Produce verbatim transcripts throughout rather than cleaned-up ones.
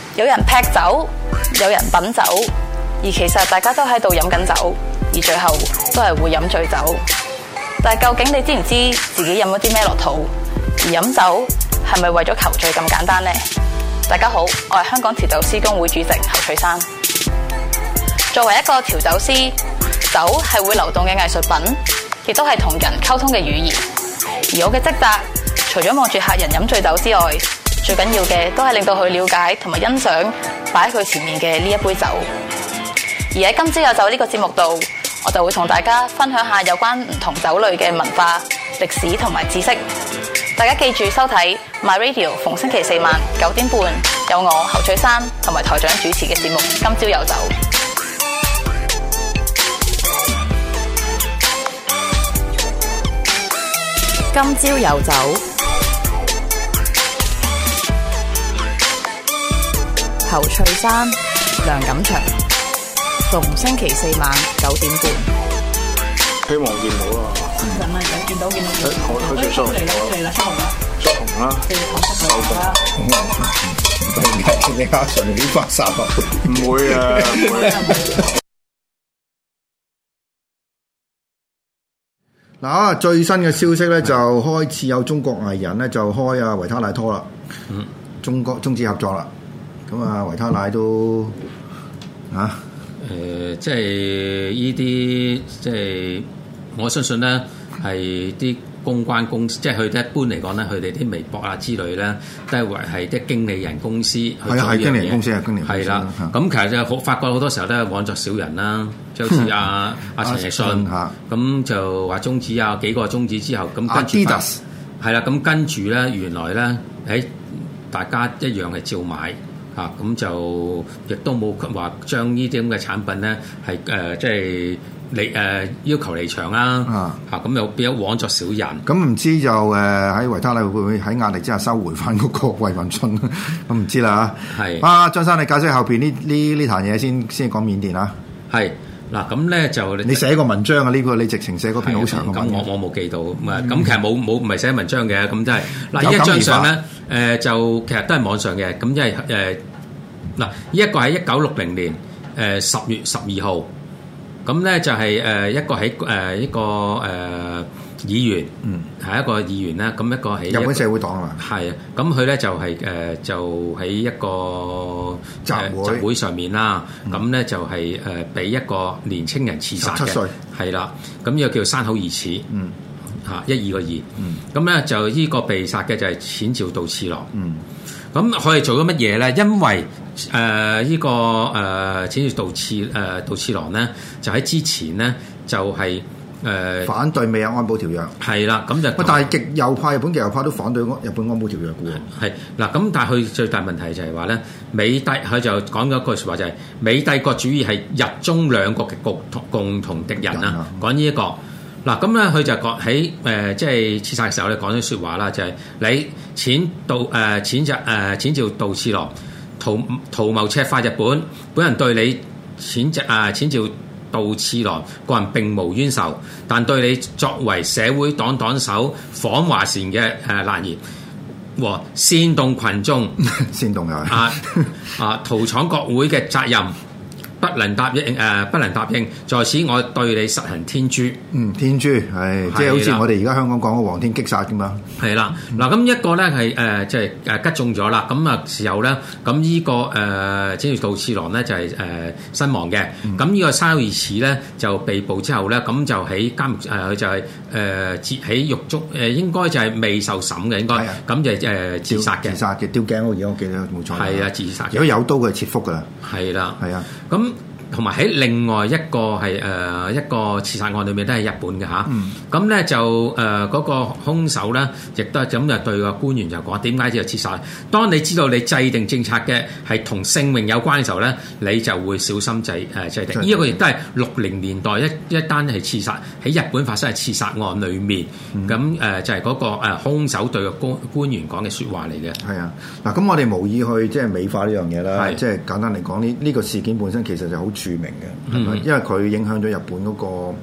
有人劈酒，有人品酒，而其實大家都喺度飲緊酒，而最後都係會飲醉酒。但係究竟你知唔知自己飲咗啲咩落肚？而飲酒係咪為咗求醉咁簡單呢？大家好，我係香港調酒師公會主席侯翠珊。作為一個調酒師，酒係會流動嘅藝術品，亦都係同人溝通嘅語言。而我嘅職責，除咗望住客人飲醉酒之外，最緊要嘅都係令到佢了解同埋欣賞擺喺佢前面嘅呢一杯酒。而喺今朝有酒呢個節目度，我就會同大家分享下有關唔同酒類嘅文化、歷史同埋知識。大家記住收睇 My Radio， 逢星期四晚九點半有我侯翠珊同埋台長主持嘅節目《今朝有酒》。今朝有酒，侯翠珊、梁錦祥，逢星期四晚九點半。 希望見到啊！ 係咪有見到見到？ 開開始出紅啦！ 嚟啦，出紅啦！ 出紅啦！ 收紅啦！ 你阿順啲發散啊？ 唔會啊！唔會。 嗱，最新嘅消息咧，就開始有中國藝人咧就開啊維他奶拖啦，嗯，中國中資合作啦，咁啊維他奶都啊， 誒、呃，即係呢啲，即係我相信咧係啲公關公司，即係佢哋一般嚟講咧，佢哋啲微博啊之類咧，都係為係啲經理人公司去做呢樣嘢。係啊，係經理人公司啊，經理人公司。係啦，咁其實就好發覺好多時候都係枉作小人啦，即係好似阿阿陳奕迅嚇，咁就話終止啊幾個終止之後，咁跟住係啦，咁跟住咧原來咧喺大家一樣係照買嚇，咁就亦都冇話將呢啲咁嘅產品咧係誒即係。離誒、呃、要求離場啦，嚇咁又變咗枉作小人。 咁唔知就誒喺維他奶會唔會喺壓力之下收回翻嗰個衛運春？咁唔知啦嚇。係啊，張生你解釋後邊呢呢呢壇嘢先先講緬甸啊。係嗱，咁咧就你寫個文章啊？呢、呢個你直情寫嗰篇好長嘅文。 咁我我冇記到，咁、嗯、其實冇冇唔係寫文章嘅，咁即係嗱呢一張相咧誒就其實都係網上嘅，咁即係誒嗱呢一個喺一九六零年誒十、呃、月十二號。咁咧就係誒一個喺誒一個誒議員，嗯，係一個議員啦。咁一個喺日本社會黨啊嘛， 係啊。咁佢咧就係誒就喺一個集會集會上面啦。咁咧就係誒俾一個年青人刺殺嘅，係啦。咁呢個叫山口義始，嗯，嚇一二個二，嗯。咁咧就呢個被殺嘅就係淺沼稻次郎，嗯。咁佢係做咗乜嘢咧？因為誒依、呃這個誒淺沼稻次誒稻次郎咧，就喺之前咧就係、是、誒、呃、 反對美日安保條約。係啦，咁就但係極右派日本極右派都反對日本安保條約嘅喎。 係嗱，咁但係佢最大問題就係話咧，美帝佢就講咗一句説話就係、是、美帝國主義係日中兩國嘅共共同敵人啊！講呢一個。嗱咁咧，佢就講喺誒即係刺殺嘅時候咧，講咗説話啦，就係、是、你淺稻誒淺就誒淺沼稻次郎圖圖謀赤化日本，本人對你淺隻誒淺沼稻次郎個人並無冤仇，但對你作為社會黨黨首訪華前嘅誒難言和煽動群眾煽動啊啊啊屠闖國會嘅責任。不能答應誒、呃，不能答應。在此，我對你實行天誅。 嗯，天誅係即係好似我哋而家香港講嘅黃天擊殺咁嘛。係啦，嗱咁一個咧係誒即係誒擊中咗啦。咁啊時候咧，咁呢、這個誒淺沼稻次郎咧就係、是、誒、呃、身亡嘅。咁、嗯、呢個山口義始咧就被捕之後咧，咁就喺監獄誒佢就係誒截喺獄中誒，應該就係未受審嘅應該。咁就誒自殺嘅。自殺嘅吊頸嗰嘢我記得冇錯。係啊，自殺。如果有刀佢係切腹㗎啦。係啦。係啊。咁同埋喺另外一個係誒、呃、一個刺殺案裏面都係日本嘅嚇，咁咧、嗯、就誒嗰、呃那個兇手咧，亦都係咁就對個官員就講點解要刺殺？當你知道你制定政策嘅係同性命有關嘅時候咧，你就會小心制誒、呃、制定。呢一個亦都係六零年代一一單係刺殺喺日本發生嘅刺殺案裏面，咁誒、嗯呃、就係、是、嗰、那個誒、呃、兇手對個官官員講嘅説話嚟嘅。係啊， 嗱咁我哋無意去即係美化呢樣嘢啦，即係簡單嚟講，呢、這、呢個事件本身其實就好著名嘅，嗯、因為佢影響咗日本嗰個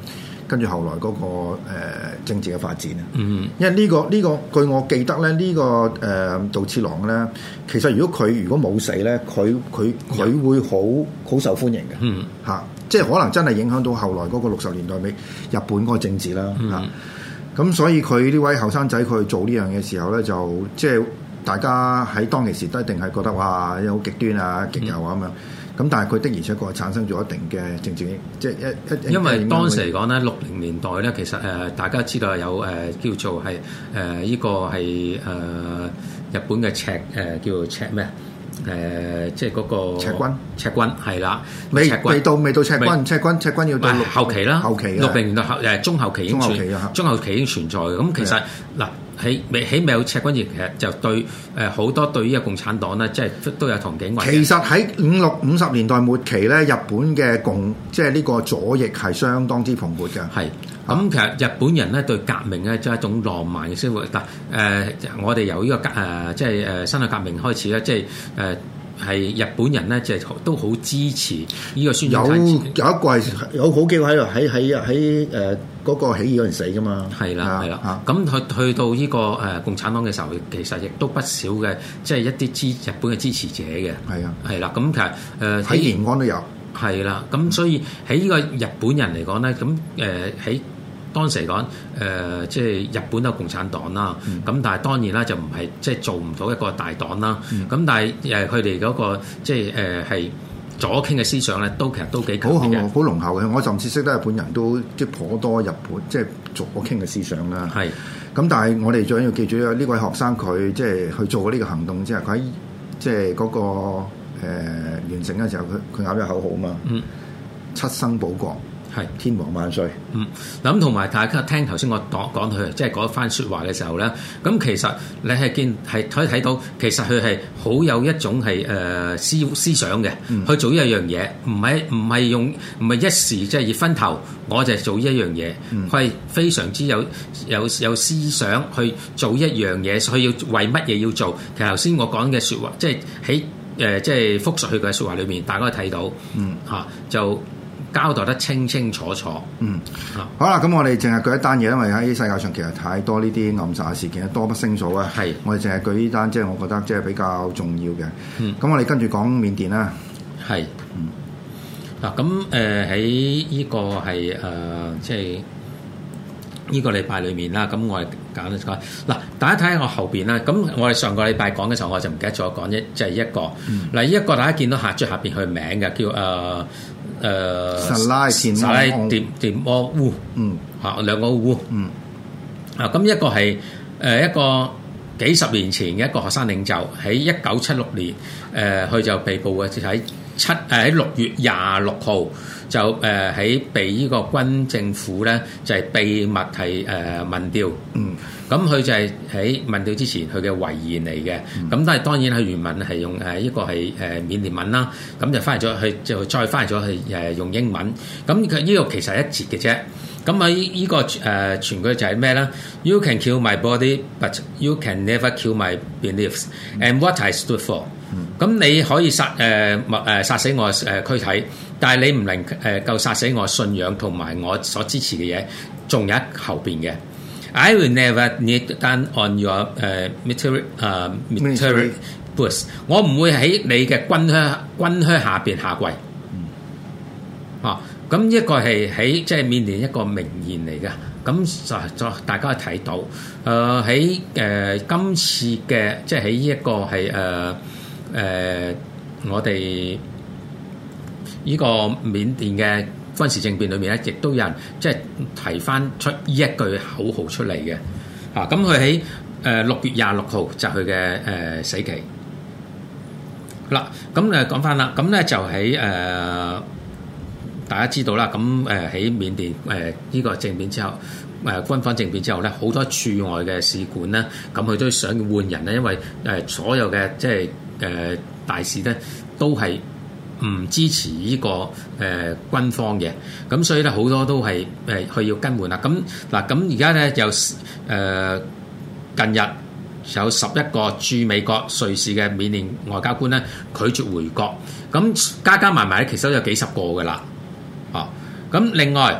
跟住後來嗰、那個、呃、政治嘅發展啊。 嗯， 因為呢、這個呢、這個據我記得咧，呢、這個誒、呃、杜次郎咧，其實如果佢如果冇死咧，佢佢佢會好好受歡迎嘅。 嗯， 嚇、啊，即係可能真係影響到後來嗰個六十年代尾日本嗰個政治啦。嚇、 嗯， 咁、啊、所以佢呢位後生仔佢做呢樣嘢時候咧，就即係大家喺當其時都一定係覺得哇，好極端啊、極右啊咁樣。咁但係佢的而且確係產生咗一定嘅政治，即係一一因為當時嚟講咧，六零年代咧，其實誒、呃、大家知道有誒、呃、叫做係誒依個係誒、呃、日本嘅赤誒、呃、叫做赤咩啊？誒、呃、即係嗰個赤軍， 赤軍係啦， 未赤軍未到未到赤軍，赤軍赤軍要到後期啦， 後期六零年代後誒中後期已經存，中後期已經存在嘅。咁其實嗱。喺未喺未有赤軍時，其實就對誒好、呃、多對於個共產黨咧，即係都有同境為。其實喺五六五十年代末期咧，日本嘅共即係呢個左翼係相當之蓬勃嘅。係咁、嗯，其實日本人咧對革命咧即係一種浪漫嘅生活。但誒、呃，我哋由呢、這個革誒、呃、即係誒辛亥革命開始咧，即係誒。呃係日本人咧，即係都好支持呢個宣傳。有有一個係有好幾個喺度喺喺喺誒嗰個起義嗰陣死噶嘛。係啦係啦。咁去去到呢個誒共產黨嘅時候，其實亦都不少嘅，即係一啲支日本嘅支持者嘅。係啊係啦。咁其實誒喺延安都有。係啦。咁所以喺呢個日本人嚟講咧，咁誒喺當時嚟講，誒、呃、即係日本都有共產黨啦，咁、嗯、但係當然啦，就唔係即係做唔到一個大黨啦。咁、嗯、但係誒佢哋嗰個即係誒係左傾嘅思想咧，都其實都幾強嘅，好濃厚嘅。我甚至識得日本人都即係頗多日本即係左傾嘅思想啦。係咁，但係我哋最緊要記住呢位學生佢即係去做呢個行動之後，佢喺即係嗰、那個誒、呃、完成嘅時候，佢佢咬咗口號啊嘛。嗯，七生保國。係天皇萬歲。嗯，咁同埋大家聽頭先我講講佢即係嗰番説話嘅時候咧，咁其實你係見係可以睇到，其實佢係好有一種係誒、呃、思思想嘅、嗯，去做一樣嘢，唔係唔係用唔係一時即係熱昏頭，我就做一樣嘢，佢、嗯、係非常之有有有思想去做一樣嘢，佢要為乜嘢要做？其實頭先我講嘅説話，即係喺誒即係複述佢嘅説話裏面，大家可以睇到，嗯嚇、啊、就。交代得清清楚楚。嗯，好啦，咁我哋淨係舉一單嘢，因為喺世界上其實太多呢啲暗殺事件，多不勝數啊。係，我哋淨係舉呢單，即係我覺得即係比較重要嘅。嗯，咁我哋跟住講緬甸啦。係，嗯，嗱，咁誒喺呢個係誒即係呢個禮拜裏面啦。咁我哋揀一講嗱，大家睇下我後邊啦。咁我哋上個禮拜講嘅時候，我就唔記得咗講一就係一個。嗱、嗯，呢一個大家見到下最下邊佢名嘅叫誒。呃誒、呃，薩拉薩拉迪迪摩烏，嗯，嚇兩個烏，嗯，啊咁一個係誒、呃、一個幾十年前嘅一個學生領袖，喺一九七六年，誒、呃、佢就被捕嘅，就喺七誒喺六月廿六號就誒喺、呃、被呢個軍政府咧就係、是、秘密係誒、呃、民調，嗯。咁佢就係喺民調之前佢嘅遺言嚟嘅，咁、嗯、但係當然係原文係用誒一個係誒緬甸文啦，咁就翻譯咗去就再翻譯咗去誒用英文，咁佢呢個其實係一節嘅啫。咁喺呢個誒全句就係咩咧 ？You can kill my body, but you can never kill my beliefs and what I stood for。咁、嗯、你可以殺誒誒殺死我誒軀體，但係你唔能誒夠殺死我信仰同埋我所支持嘅嘢，仲有一後邊嘅。I will never kneel down on your 誒、uh, military 誒 military boots。我唔會喺你嘅軍靴軍靴下邊下跪。嗯。啊，咁一個係喺即係緬甸一個名言嚟嘅。咁就就大家睇到，誒喺誒今次嘅即係喺呢一個係誒誒我哋呢個緬甸嘅軍事政變裏面咧，亦都有人即係提翻出呢一句口號出嚟嘅。啊，咁佢喺誒六月廿六號就佢嘅誒死期。嗱，咁誒講翻啦，咁咧就喺誒、呃、大家知道啦，咁誒喺緬甸誒呢、呃這個政變之後，誒、呃、軍方政變之後咧，好多駐外嘅使館咧，咁佢都想換人咧，因為誒、呃、所有嘅即係誒、呃、大使咧都係唔支持呢、這個誒、呃、軍方嘅，咁所以咧好多都係誒佢要更換啦。咁嗱，咁而家咧有誒、呃、近日有十一個駐美國瑞士嘅緬甸外交官咧拒絕回國，咁加加埋埋咧其實都有幾十個噶啦。哦，咁另外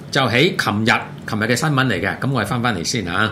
就喺琴日，琴日嘅新聞嚟嘅。咁我哋翻翻嚟先嚇。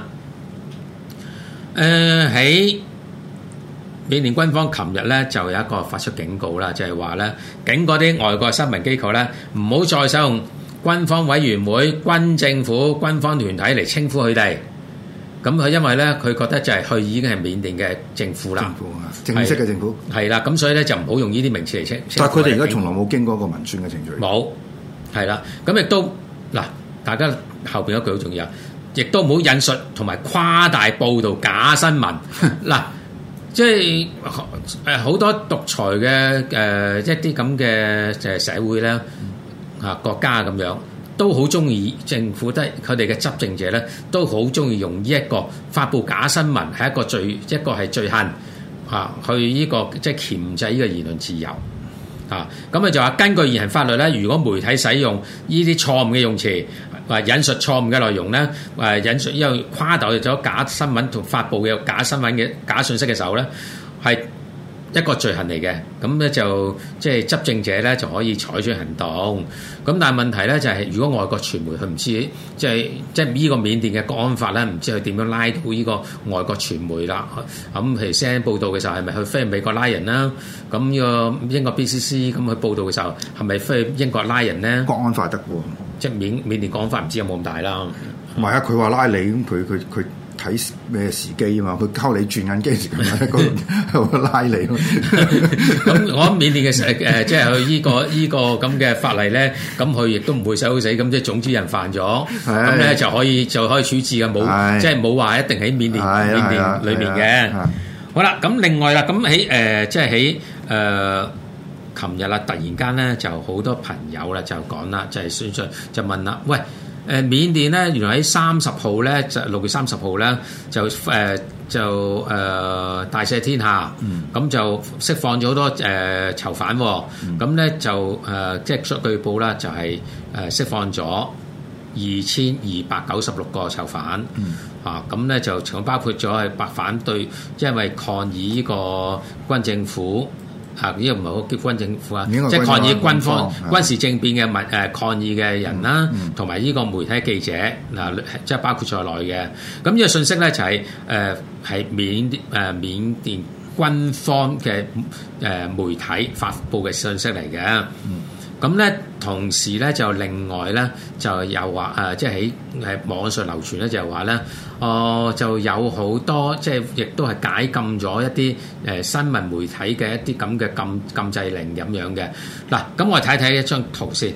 誒喺緬甸軍方琴日咧就有一個發出警告啦，就係話咧警嗰啲外國新聞機構咧唔好再使用軍方委員會、軍政府、軍方團體嚟稱呼佢哋。咁佢因為咧佢覺得就係佢已經係緬甸嘅政府啦， 政府啊，正式嘅政府係啦，咁所以咧就唔好用呢啲名詞嚟稱。 但係佢哋而家從來冇經過一個民選嘅程序。 冇，係啦，咁亦都嗱，大家後邊一句好重要，亦都唔好引述同埋誇大報導假新聞。嗱，即係誒好多獨裁嘅誒一啲咁嘅誒社會咧啊國家咁樣。都好中意政府，都係佢哋嘅執政者咧，都好中意用呢一個發布假新聞係一個罪，一個係罪行啊，去呢個即係鉗制呢個言論自由啊。咁啊就話根據現行法律咧，如果媒體使用呢啲錯誤嘅用詞，或引述錯誤嘅內容咧，誒引述因為誇大咗假新聞同發布嘅假新聞嘅假信息嘅時候咧，係一個罪行嚟嘅，咁咧就即係執政者咧就可以採取行動。咁但係問題咧就係，如果外國傳媒佢唔知，即係即係呢個緬甸嘅國安法咧，唔知佢點樣拉到呢個外國傳媒啦。咁譬如 C N N 報道嘅時候，係咪去飛美國拉人啦？咁呢個英國 B C C 咁去報道嘅時候，係咪飛英國拉人咧？ 國安法得喎， 即係緬緬甸國安法唔知有冇咁大啦。 唔係啊，佢話拉你咁，佢佢佢。睇咩時機啊嘛？佢溝你轉緊機時，咁喺嗰度拉你。 咁我諗緬甸嘅誒誒，即係佢依個依個咁嘅法例咧，咁佢亦都唔會手死。咁即係總之人犯咗，咁咧就可以就可以處置嘅，冇即係冇話一定喺緬甸緬甸裏面嘅。好啦，咁另外啦，咁喺誒即係喺誒琴日啦，突然間咧就好多朋友啦就講啦，就係宣傳就問啦，喂！誒緬甸咧，原來喺三十號咧，就六月三十號咧，就誒、呃、就誒、呃、大赦天下，咁、嗯、就釋放咗好多誒、呃、囚犯、哦，咁咧、嗯、就誒、呃、即係據報啦，就係誒釋放咗二千二百九十六個囚犯，嗯、啊咁咧就仲包括咗係白反對，因為抗議呢個軍政府。啊！呢個唔係好結軍政府啊，即係抗議軍方軍事政變嘅民誒抗議嘅人啦，同埋呢個媒體記者嗱，即係包括在內嘅。咁呢個信息咧就係誒係緬誒緬甸軍方嘅誒媒體發布嘅信息嚟嘅。咁咧同時咧就另外咧就又話誒，即係喺喺網上流傳咧就係話咧，哦就有好多即係亦都係解禁咗一啲誒新聞媒體嘅一啲咁嘅禁禁制令咁樣嘅。嗱，咁我哋睇睇一張圖先。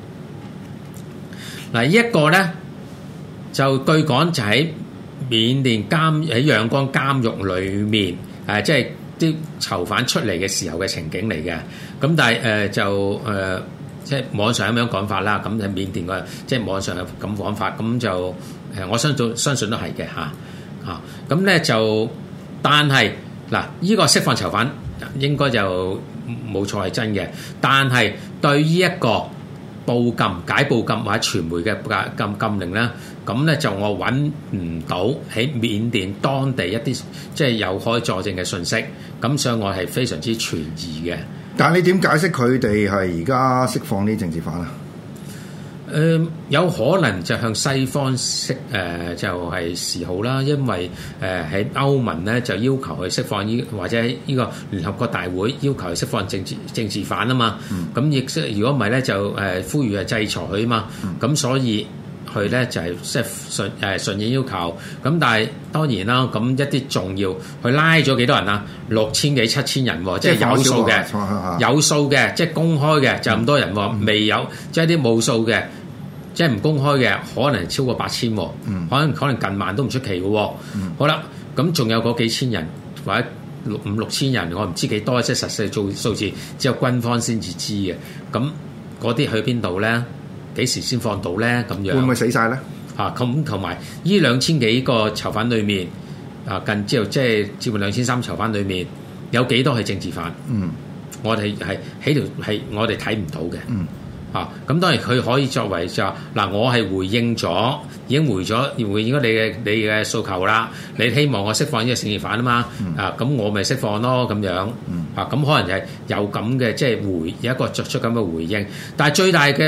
嗱，呢一個咧就據講就喺緬甸監喺仰光監獄裡面誒，即係啲囚犯出嚟嘅時候嘅情景嚟嘅。咁但係誒、呃、就誒、呃、即係網上咁樣講法啦，咁喺緬甸嘅即係網上咁講法，咁就誒我相信相信都係嘅嚇嚇。咁咧就但係嗱，依個釋放囚犯應該就冇錯係真嘅，但係對於一個報禁解報禁或者傳媒嘅禁禁令咧，咁咧就我揾唔到喺緬甸當地一啲即係有可以佐證嘅信息，咁所以我係非常之存疑嘅。 但係你點解釋佢哋係而家釋放啲政治犯啊？ 誒、呃、有可能就向西方釋誒、呃、就係、是、示好啦，因為誒喺、呃、歐盟咧就要求佢釋放呢，或者呢個聯合國大會要求佢釋放政治政治犯啊嘛。咁亦即如果唔係咧就誒、呃、呼籲係制裁佢啊嘛。咁、嗯、所以佢咧就係即係順誒順應要求。咁但係當然啦，咁一啲重要佢拉咗幾多人啊？六千幾七千人喎，即係有數嘅，有數嘅，即係公開嘅就咁多人喎，嗯、未有即係啲冇數嘅。即係唔公開嘅，可能超過八千，嗯、可能可能近萬都唔出奇嘅。嗯、好啦，咁仲有嗰幾千人或者六五六千人，我唔知幾多，即係實際做數字，只有軍方先至知嘅。咁嗰啲去邊度咧？幾時先放到咧？咁樣會唔會死晒咧？ 啊，咁同埋呢兩千幾個囚犯裏面，啊近之後即係接近兩千三囚犯裏面，有幾多係政治犯？嗯，我哋係喺條係我哋睇唔到嘅。嗯。啊，咁當然佢可以作為就話嗱，我係回應咗，已經回咗回應咗你嘅你嘅訴求啦。你希望我釋放呢個政治犯啊嘛，嗯、啊咁我咪釋放咯咁樣。啊咁可能係有咁嘅即係回有一個作出咁嘅回應，但係最大嘅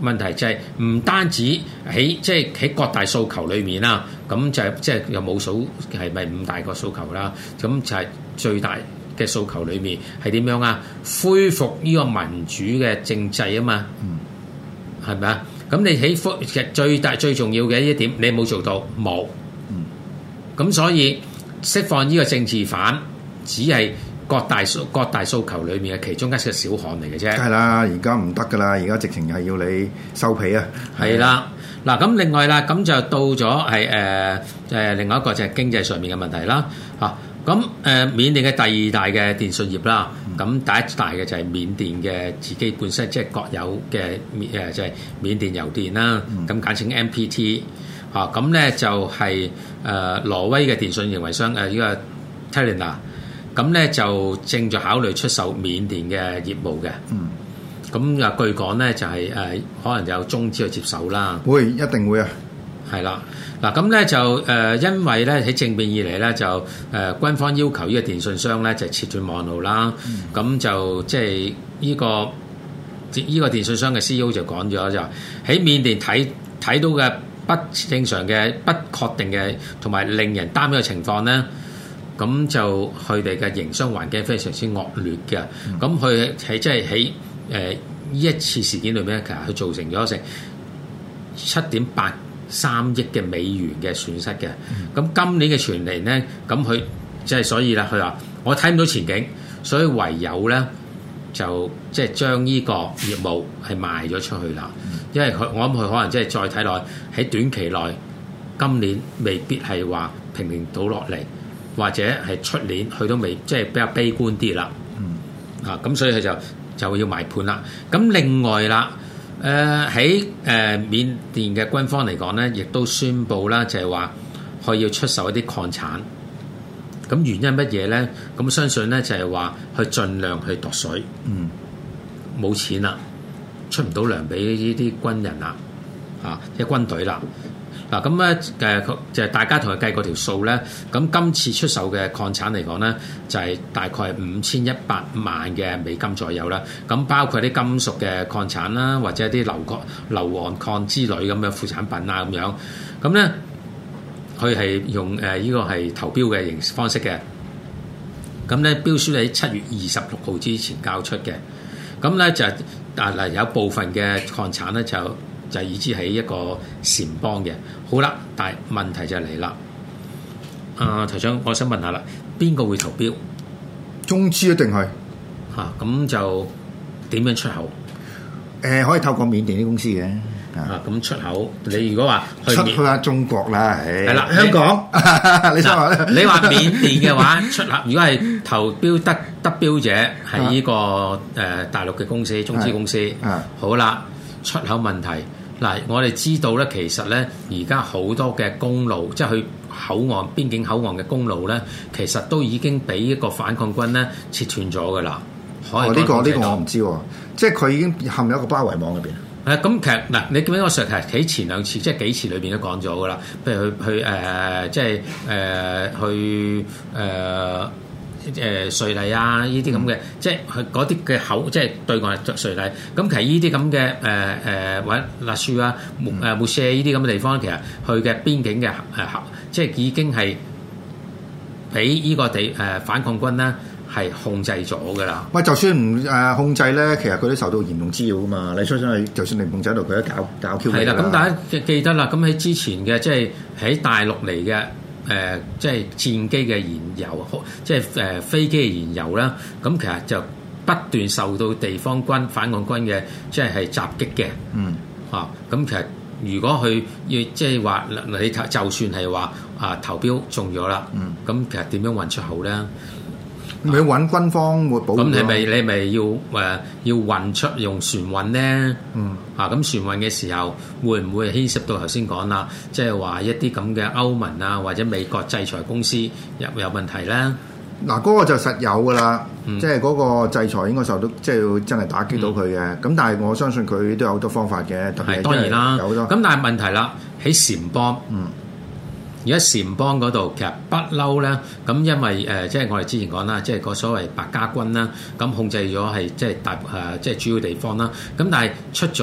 問題就係唔單止喺即係喺各大訴求裏面啦，咁就係即係又冇數係咪五大個訴求啦？咁就係最大嘅訴求裏面係點樣啊？恢復呢個民主嘅政制啊嘛，係咪啊？咁你喺其實最大最重要嘅一點，你冇做到冇，咁所以釋放呢個政治犯，只係各大訴各大訴求裏面嘅其中一個小項嚟嘅啫。 係啦，而家唔得噶啦，而家直情係要你收皮啊！ 係啦，嗱咁另外啦，咁就到咗係誒誒另外一個就係經濟上面嘅問題啦，嚇咁誒緬甸嘅第二大嘅電信業啦，咁、嗯、第一大嘅就係緬甸嘅自己本身即係國有嘅誒就係、是、緬甸郵電啦，咁、嗯、簡稱 M P T 嚇，咁咧就係、是、誒、呃、挪威嘅電信營運商誒呢、呃這個 Telenor， 咁咧就正在考慮出售緬甸嘅業務嘅。嗯咁啊，據講咧就係、是、誒、呃，可能有中資去接手啦。 會，一定會啊。 係啦，嗱咁咧就誒、呃，因為咧喺政變以嚟咧就誒、呃，軍方要求呢個電信商咧就切斷網路啦。咁、嗯、就即係呢個呢、這個電信商嘅 C E O 就講咗就喺緬甸睇睇到嘅不正常嘅、不確定嘅同埋令人擔憂嘅情況咧。咁就佢哋嘅營商環境非常之惡劣嘅。咁佢係即係喺誒呢一次事件裏面，其實佢造成咗成七點八三億嘅美元嘅損失嘅。咁、嗯、今年嘅全年咧，咁佢即係所以啦，佢話我睇唔到前景，所以唯有咧就即係將呢個業務係賣咗出去啦。嗯、因為佢我諗佢可能即係再睇落喺短期內，今年未必係話平平倒落嚟，或者係出年佢都未即係比較悲觀啲啦。嗯、啊咁所以佢就。就要賣盤啦。咁另外啦，誒喺誒緬甸嘅軍方嚟講咧，亦都宣布啦，就係話佢要出售一啲礦產。咁原因乜嘢咧？咁相信咧就係話去盡量去度水。嗯，冇錢啦，出唔到糧俾呢啲軍人啦，啊，即係軍隊啦。嗱咁咧誒就係大家同佢計過條數咧，咁今次出售嘅礦產嚟講咧，就係大概係五千一百萬嘅美金左右啦。咁包括啲金屬嘅礦產啦，或者啲硫礦、硫磺礦之類咁嘅副產品啊咁樣。咁咧佢係用誒呢個係投標嘅形式方式嘅。咁咧標書喺七月二十六號之前交出嘅。咁咧就但係有部分嘅礦產咧就。就係已知係一個撣邦嘅，好啦，但係問題就嚟啦。啊，台長，我想問下啦，邊個會投標？ 中資一定係嚇，咁、啊、就點樣出口？ 誒、呃，可以透過緬甸啲公司嘅。 啊，咁出口，你如果話去出去下中國啦，係啦， 的香港，你，你想話咧？ 你話緬甸嘅話出口，如果係投標得得標者係呢、這個誒、呃、大陸嘅公司、中資公司，好啦，出口問題。嗱，我哋知道咧，其實咧，而家好多嘅公路，即係去口岸、邊境口岸嘅公路咧，其實都已經俾一個反抗軍咧切斷咗噶啦。 哦，呢、這個呢、這個我唔知喎，即係佢已經陷入一個包圍網入邊。 誒、啊，咁其實嗱，你見到我上題喺前兩次，即係幾次裏邊都講咗噶啦。譬如去去誒、呃，即係誒、呃、去誒。呃誒瑞麗啊，呢啲咁嘅，即係佢嗰啲嘅口，即係對岸係瑞麗。咁其實呢啲咁嘅誒誒或者納樹啊、誒木舍呢啲咁嘅地方，其實佢嘅邊境嘅誒，即係已經係俾呢個地誒、呃、反抗軍咧係控制咗㗎啦。喂， 就算唔誒控制咧，其實佢都受到嚴重滋擾㗎嘛。你出上去，就算你唔控制到，佢都搞搞 Q 你。係啦，咁大家記得啦。咁喺之前嘅，即係喺大陸嚟嘅。誒、呃，即係戰機嘅燃油，即係誒、呃、飛機嘅燃油啦。咁其實就不斷受到地方軍反抗軍嘅，即係係襲擊嘅。嗯，啊，咁其實如果佢要即係話，你就算係話啊投標中咗啦，嗯，咁其實點樣運出口咧？ 咪要揾軍方會保護。咁你咪你咪要誒、呃、要運出用船運咧？嗯，啊咁船運嘅時候會唔會牽涉到頭先講啦？即係話一啲咁嘅歐盟啊或者美國制裁公司有有問題咧？ 嗱，嗰個就實有噶啦，嗯、即係嗰個制裁應該受到即係要真係打擊到佢嘅。咁、嗯、但係我相信佢都有好多方法嘅，特別係當然啦，有好多。咁但係問題啦，喺撣邦。嗯。而家撣邦嗰度其實不嬲咧，咁因為誒、呃，即係我哋之前講啦，即係個所謂白家軍啦，咁控制咗係即係大誒，即係主要地方啦。咁但係出咗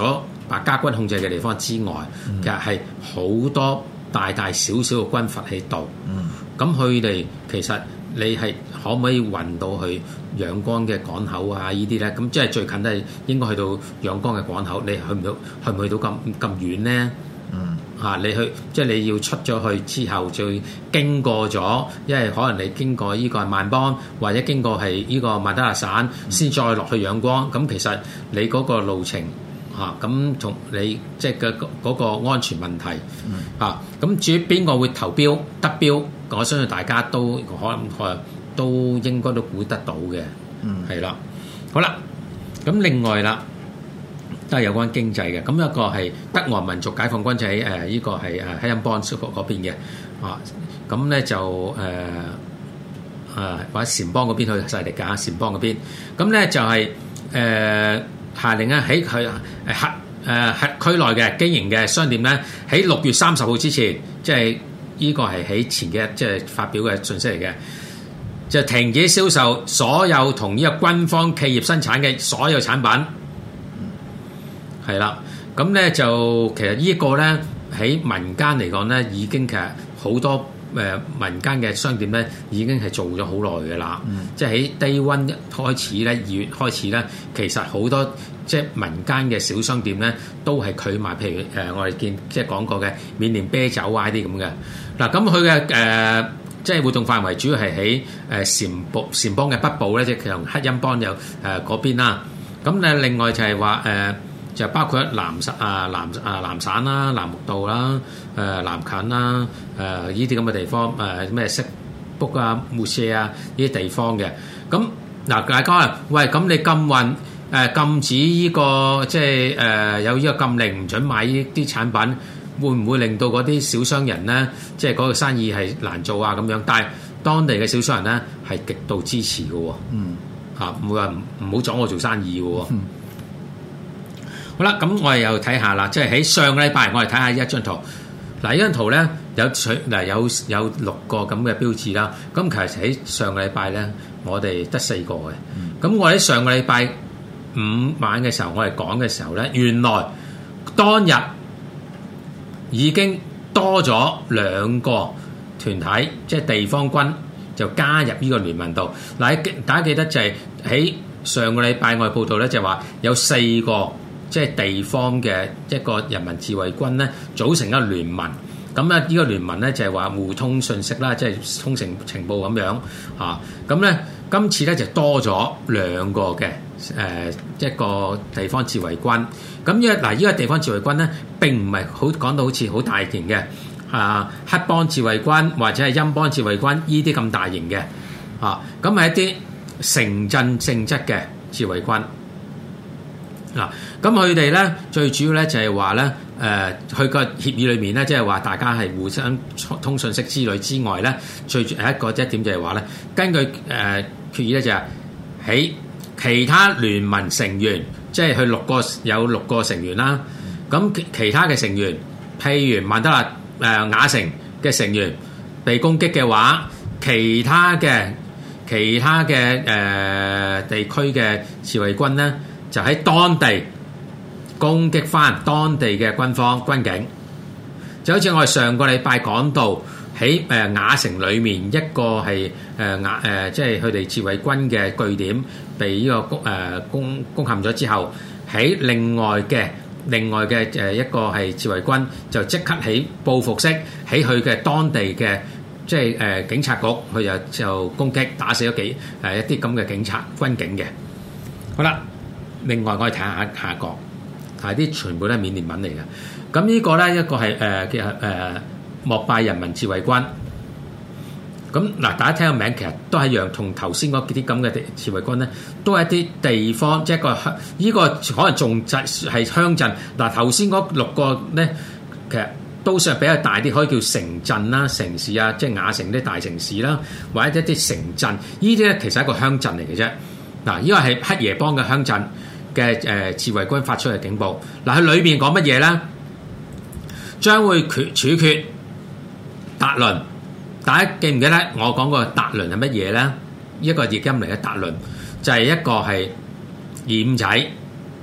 白家軍控制嘅地方之外，嗯、其實係好多大大小小嘅軍閥喺度。咁佢哋其實你係可唔可以運到去仰光嘅港口啊？呢啲咧，咁即係最近都係應該去到仰光嘅港口。你去唔到，去唔去到咁咁遠咧？嗯，嚇、啊、你去即係你要出咗去之後，再經過咗，因為可能你經過呢個係萬邦，或者經過係呢個曼德勒省，先、嗯、再落去仰光。咁其實你嗰個路程嚇，咁、啊、同你即係嘅嗰個安全問題嚇。咁、啊、至於邊個會投標得標，我相信大家都可能可都應該都估得到嘅。嗯，係啦。好啦，咁另外啦。都係有關經濟嘅，咁一個係德俄民族解放軍就喺誒呢個係誒黑恩邦嗰嗰邊嘅，啊，咁咧就誒誒或者撣邦嗰邊去勢力㗎，撣邦嗰邊，咁咧就係誒下令咧喺佢誒核誒核區內嘅經營嘅商店咧，喺六月三十號之前，即係呢個係喺前幾日即係發表嘅訊息嚟嘅，就停止銷售所有同呢個軍方企業生產嘅所有產品。係啦，咁咧就其實呢一個咧喺民間嚟講咧，已經其實好多誒民間嘅商店咧已經係做咗好耐嘅啦。嗯、即係喺低溫開始咧，二月開始咧，其實好多即係民間嘅小商店咧都係佢賣，譬如誒、呃、我哋見即係講過嘅緬甸啤酒啊啲咁嘅。嗱，咁佢嘅誒即係活動範圍主要係喺誒撣部撣邦嘅北部咧，即係其實黑恩邦有誒嗰邊啦。咁咧另外就係話誒。呃就包括南省啊、南啊、南省啦、南木道啦、誒南近啦、誒呢啲咁嘅地方，誒咩色卜啊、木舍啊呢啲地方嘅。咁嗱，大家啊，喂，咁你禁運誒禁止呢個即係誒有呢個禁令，唔準買呢啲產品，會唔會令到嗰啲小商人咧，即係嗰個生意係難做啊咁樣？但係當地嘅小商人咧係極度支持嘅喎。嗯。嚇，唔會話唔唔好阻我做生意嘅喎。嗯。好啦，咁我哋又睇下啦，即係喺上個禮拜，我哋睇下呢一張圖。嗱，呢張圖咧有取嗱有有六個咁嘅標誌啦。咁其實喺上個禮拜咧，我哋得四個嘅。咁、嗯、我喺上個禮拜五晚嘅時候，我哋講嘅時候咧，原來當日已經多咗兩個團體，即係地方軍就加入呢個聯盟度。嗱，大家記得就係喺上個禮拜我哋報道咧，就話有四個。即係地方嘅一個人民自衛軍咧，組成一個聯盟。咁咧，呢個聯盟咧就係話互通訊息啦，即係通情情報咁樣嚇。咁咧，今次咧就多咗兩個嘅誒一個地方自衛軍。咁呢嗱，呢個地方自衛軍咧並唔係好講到好似好大型嘅啊黑幫自衛軍或者係陰幫自衛軍呢啲咁大型嘅啊。咁係一啲城鎮性質嘅自衛軍。嗱，咁佢哋咧最主要咧就係話咧，誒，佢個協議裏面咧，即係話大家係互相通訊息之類之外咧，最係一個一點就係話咧，根據誒決議咧就係喺其他聯盟成員，即係佢六個有六個成員啦，咁其其他嘅成員，譬如曼德勒誒瓦城嘅成員被攻擊嘅話，其他嘅其他嘅誒地區嘅自衛軍咧。就喺當地攻擊翻當地嘅軍方軍警，就好似我哋上個禮拜講到喺誒瓦城裏面一個係誒瓦誒，即係佢哋自衛軍嘅據點被呢個攻誒攻攻陷咗之後，喺另外嘅另外嘅誒一個係自衛軍就即刻喺報復式喺佢嘅當地嘅即係誒警察局，佢就就攻擊打死咗幾誒一啲咁嘅警察軍警嘅。好啦。另外，我哋睇下下一個，係啲全部都係緬甸文嚟嘅。咁呢個咧，一個係誒嘅誒莫拜人民自衛軍。咁嗱，大家聽個名其實都係一樣，同頭先嗰啲咁嘅自衛軍咧，都係一啲地方，即係一個鄉。呢個可能仲就係鄉鎮。嗱，頭先嗰六個咧，其實都算係比較大啲，可以叫城鎮啦、城市啊，即係瓦城啲大城市啦，或者一啲城鎮。呢啲咧其實係一個鄉鎮嚟嘅啫。嗱，呢個係黑耶邦嘅鄉鎮。嘅誒自衛軍發出嘅警報，嗱，佢裏邊講乜嘢咧？將會決處決達倫。大家記唔記得我講過達倫係乜嘢咧？一個譯音嚟嘅達倫，就係一個係二五仔，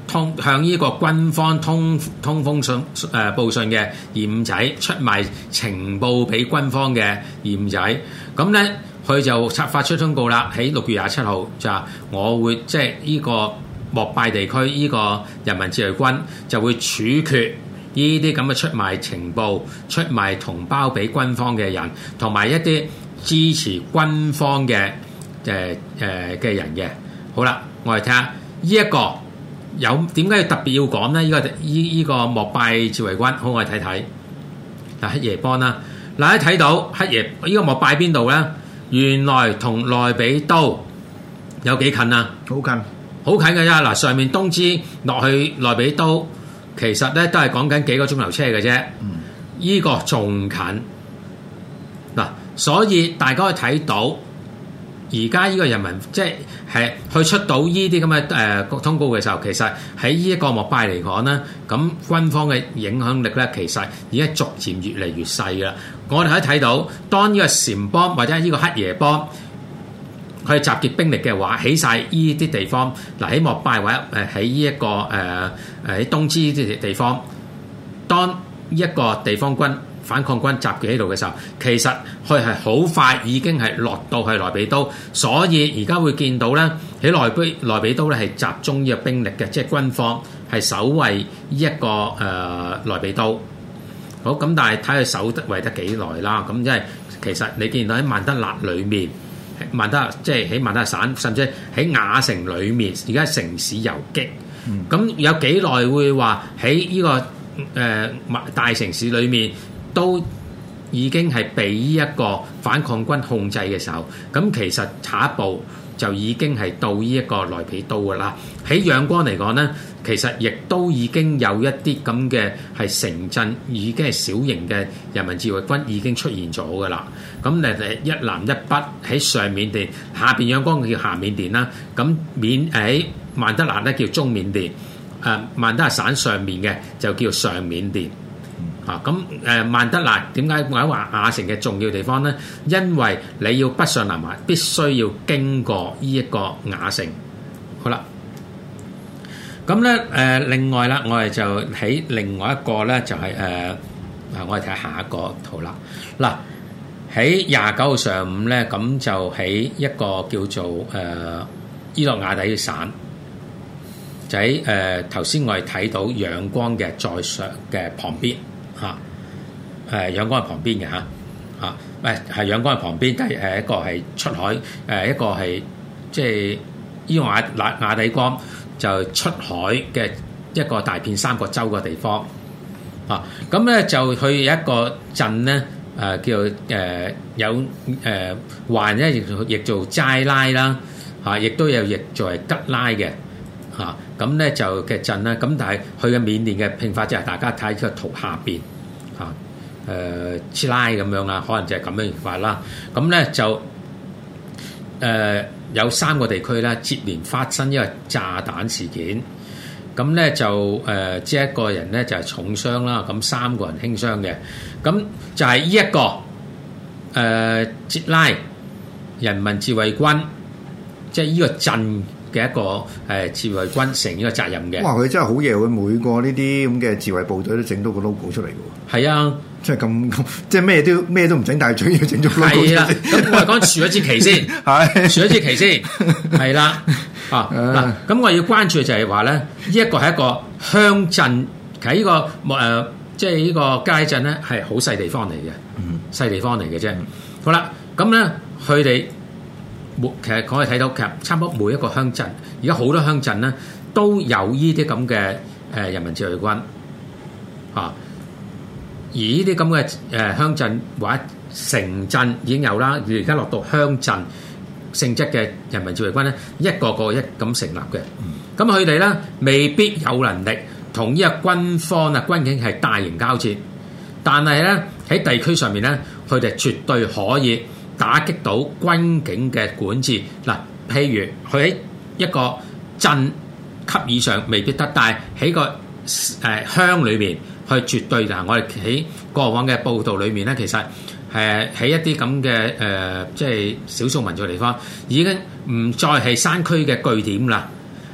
通向呢個軍方通通風信誒、呃、報信嘅二五仔出賣情報俾軍方嘅二五仔，咁咧佢就發發出通告啦，喺六月廿七號就話我會即係呢個莫拜地區呢個人民自衛軍就會處決呢啲咁嘅出賣情報、出賣同胞俾軍方嘅人，同埋一啲支持軍方嘅誒誒嘅人嘅。好啦，我哋睇下呢一個有點解要特別要講咧？呢、這個依依、這個莫拜自衛軍，好，我哋睇睇嗱黑耶邦啦。嗱，一睇到黑耶呢、這個莫拜邊度咧？原來同內比都有幾近啊？ 好近， 好近嘅啫。嗱，上面東支落去內比都，其實咧都係講緊幾個鐘頭車嘅啫。嗯，依個仲近嗱，所以大家可以睇到。而家呢個人民即係係去出到呢啲咁嘅誒通告嘅時候，其實喺呢一個莫拜嚟講咧，咁軍方嘅影響力咧，其實已經逐漸越嚟越細㗎啦。我哋可以睇到，當呢個撣邦或者呢個黑耶邦佢集結兵力嘅話，起晒呢啲地方，嗱喺莫拜或者誒喺呢一個誒誒喺東支呢啲地方，當一個地方軍反抗軍集結喺度嘅時候，其實佢係好快已經係落到去內比都，所以而家會見到咧喺內比內比都咧係集中呢個兵力嘅，即係軍方係守衛呢一個誒、呃、內比都。好咁，但係睇佢守得維得幾耐啦。咁因為其實你見到喺曼德勒裏面，曼德勒即係喺曼德勒省，甚至喺亞城裏面，而家城市游擊。咁、嗯、有幾耐會話喺呢個誒、呃、大城市裏面？都已經係被呢一個反抗軍控制嘅時候，咁其實下一步就已經係到呢一個內比都㗎啦。喺仰光嚟講咧，其實亦都已經有一啲咁嘅係城鎮，已經係小型嘅人民自衛軍已經出現咗㗎啦。咁誒一南一北喺上緬甸，下邊仰光叫下緬甸啦。咁緬喺曼德勒咧叫中緬甸，誒曼德勒省上面嘅就叫上緬甸。啊，咁誒曼德勒點解我話亞城嘅重要地方咧？因為你要北上南下，必須要經過呢一個亞城。好啦，咁咧誒另外啦，我哋就喺另外一個咧就係誒啊，我哋睇下下一個圖啦。嗱喺廿九號上午咧，咁就喺一個叫做誒、呃、伊洛瓦底省。就喺誒頭先我哋睇到仰光嘅在上嘅旁邊嚇，誒仰光係旁邊嘅嚇嚇，誒係仰光係旁邊，但係誒一個係出海，誒一個係即係伊洛瓦瓦底江就出海嘅一個大片三角洲嘅地方嚇，咁咧就去有一個鎮咧誒叫誒、呃、有誒環咧亦亦做齋拉啦嚇，亦都有譯做係吉拉嘅。嚇咁咧就嘅鎮啦，咁但係佢嘅緬甸嘅拼法就係大家睇個圖下邊嚇誒切拉咁樣啦，可能就係咁樣拼法啦。咁咧就誒、呃、有三個地區咧接連發生一個炸彈事件，咁咧就誒即係一個人咧就係重傷啦，咁三個人輕傷嘅，咁就係呢一個誒切、呃、拉人民自衛軍，即係呢個鎮嘅一個誒自衛軍承呢個責任嘅。哇！ 佢真係好嘢，佢每個呢啲咁嘅自衛部隊都整到個 logo 出嚟嘅喎。係啊，即係咁咁，即係咩都咩都唔整，但係最要整咗 logo 出嚟。係啦，咁我係講豎一支旗先，係豎一支旗先，係啦。啊嗱，咁我要關注嘅就係話咧，呢一個係一個鄉鎮，喺呢個誒即係呢個街鎮咧係好細地方嚟嘅，嗯，細地方嚟嘅啫。好啦，咁咧佢哋。其實我哋睇到，其實差唔多每一個鄉鎮，而家好多鄉鎮咧都有呢啲咁嘅誒人民自衛軍啊。而呢啲咁嘅誒鄉鎮或者城鎮已經有啦，而家落到鄉鎮性質嘅人民自衛軍咧，一個個一咁成立嘅。咁佢哋咧未必有能力同呢個軍方啊軍警係大型交戰，但係咧喺地區上面咧，佢哋絕對可以打擊到軍警嘅管治嗱，譬如佢喺一個鎮級以上未必得，但係喺個誒鄉裏面，佢絕對嗱，我哋喺過往嘅報道裏面咧，其實誒喺一啲咁嘅誒，即係少數民族地方，已經唔再係山區嘅據點啦，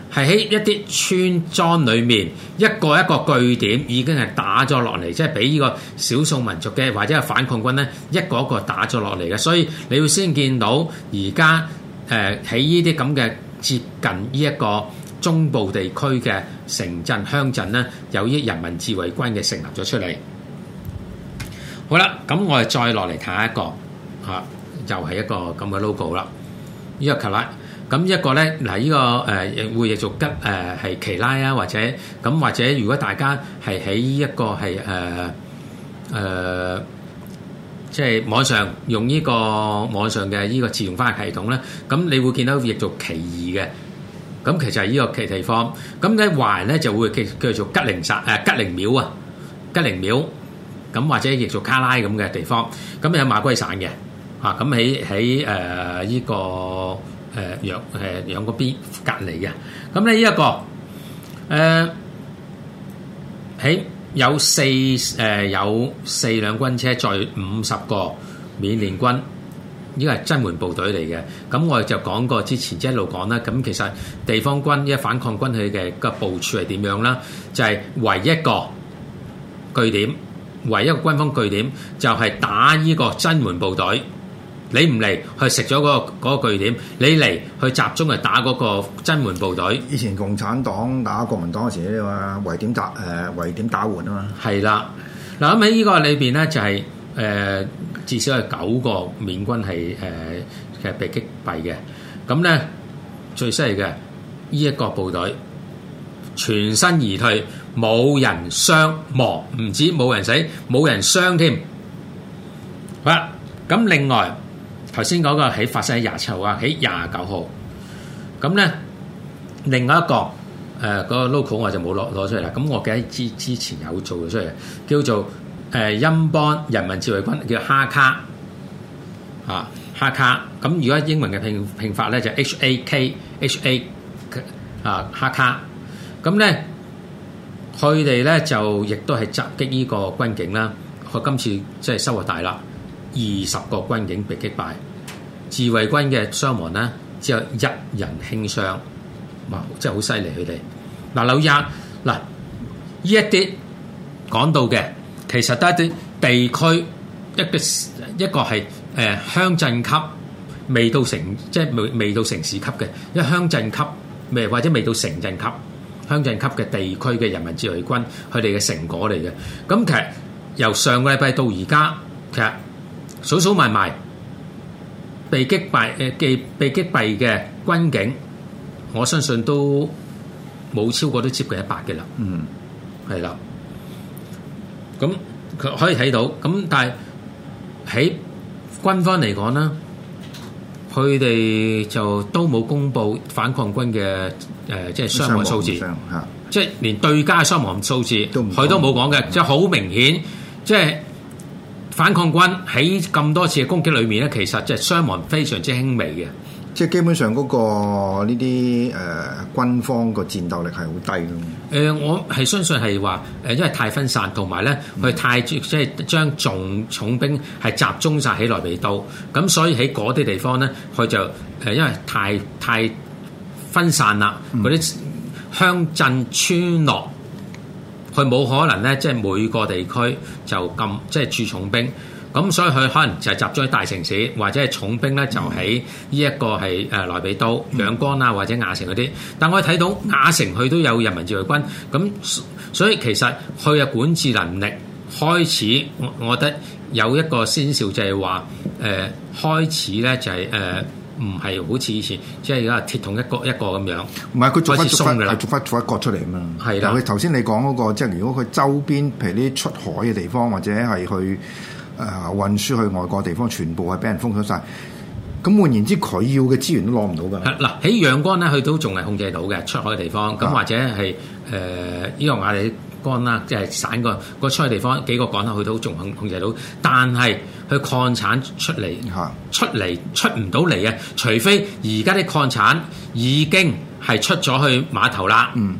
係喺一啲村莊裏面一個一個據點已經係打咗落嚟，即係俾呢個少數民族嘅或者係反抗軍咧一個一個打咗落嚟嘅，所以你要先見到而家誒喺呢啲咁嘅接近呢一個中部地區嘅城鎮鄉鎮咧，有啲人民自衛軍嘅成立咗出嚟。好啦，咁我哋再落嚟睇下一個嚇、啊，又係一個咁嘅 logo 啦。呢、這個卡拉，咁一個咧嗱，呢、這個誒、呃、會譯做吉誒係奇拉啊，或者咁或者如果大家係喺一個係誒誒，即係網上用呢個網上嘅呢個自動翻譯系統咧，咁你會見到譯做奇異嘅。咁其實係呢個奇地方，咁喺華人咧就會叫叫做吉靈薩誒吉靈廟啊，吉靈廟，咁或者譯做卡拉咁嘅地方，咁有馬圭省嘅嚇，咁喺喺誒呢個誒陽誒陽嗰邊隔離嘅，咁咧呢一個誒喺有四誒有四輛軍車載五十個緬甸軍。呢個係增援部隊嚟嘅，咁我哋就講過之前一路講啦。咁其實地方軍一反抗軍佢嘅個部署係點樣啦？就係、是、唯一個據點，唯一個軍方據點就係打呢個增援部隊。你唔嚟去食咗嗰個嗰個據點，你嚟去集中去打嗰個增援部隊。 以前共產黨打國民黨嗰時咧話圍點打誒圍點打援啊嘛。 係啦，嗱咁喺呢個裏邊咧就係、是、誒。呃至少係九個緬軍係誒其實被擊斃嘅，咁咧最犀利嘅呢一個部隊全身而退，冇人傷亡，唔止冇人死，冇人傷添。好啦，咁另外頭先講個喺發生喺廿七號啊，喺廿九號，咁咧另外一個誒嗰、呃那個 logo 我就冇攞攞出嚟啦。咁我記得之之前有做咗出嚟，叫做。誒欽邦人民自衛軍叫哈卡啊，哈卡咁如果英文嘅拼拼法咧就 H A K H A 啊哈卡，咁咧佢哋咧就亦都係襲擊呢個軍警啦。佢今次即係收穫大啦，二十個軍警被擊敗，自衛軍嘅傷亡咧只有一人輕傷，哇！真係好犀利佢哋。嗱，留意下嗱，呢一啲講到嘅。其實都係啲地區一個一個係誒鄉鎮級，未到城即係未未到城市級嘅，因為鄉鎮級未或者未到城鎮級，鄉鎮級嘅地區嘅人民自衛軍佢哋嘅成果嚟嘅。咁其實由上個禮拜到而家，其實數數埋埋被擊敗誒嘅被擊斃嘅軍警，我相信都冇超過都接近一百嘅啦。嗯，係啦。咁佢可以睇到，咁但係喺軍方嚟講咧，佢哋就都冇公布反抗軍嘅誒、呃，即係傷亡數字，即係連對家傷亡數字佢都冇講嘅，即係好明顯，即係反抗軍喺咁多次嘅攻擊裏面咧，其實即係傷亡非常之輕微嘅。 即係基本上嗰個呢啲誒軍方個戰鬥力係好低咯。 誒、呃，我係相信係話誒，因為太分散，同埋咧佢太即係將重重兵係集中晒喺內比都，咁所以喺嗰啲地方咧，佢就誒、呃、因為太太分散啦，嗰啲鄉鎮村落，佢冇可能咧，即係每個地區就咁即係駐重兵。咁所以佢可能就係集中喺大城市，或者係重兵咧就喺呢一個係誒內比都、仰光啊或者亞城嗰啲。但我哋睇到亞城佢都有人民自衛軍，咁所以其實佢嘅管治能力開始，我我覺得有一個先兆就係話誒開始咧就係誒唔係好似以前即係而家鐵桶一個一個咁樣。唔係佢逐忽逐忽係逐忽逐忽割出嚟啊嘛。 係啦， 佢頭先你講嗰個即係如果佢周邊譬如啲出海嘅地方或者係去。誒、呃、運輸去外國地方，全部係俾人封鎖晒。咁換言之，佢要嘅資源都攞唔到㗎。 嗱喺仰光咧，佢都仲係控制到嘅出海嘅地方。咁或者係誒呢個亞利干啦，即係省個個出海地方幾個港口，佢都仲控控制到。但係佢礦產出嚟出嚟出唔到嚟啊！除非而家啲礦產已經係出咗去碼頭啦。嗯，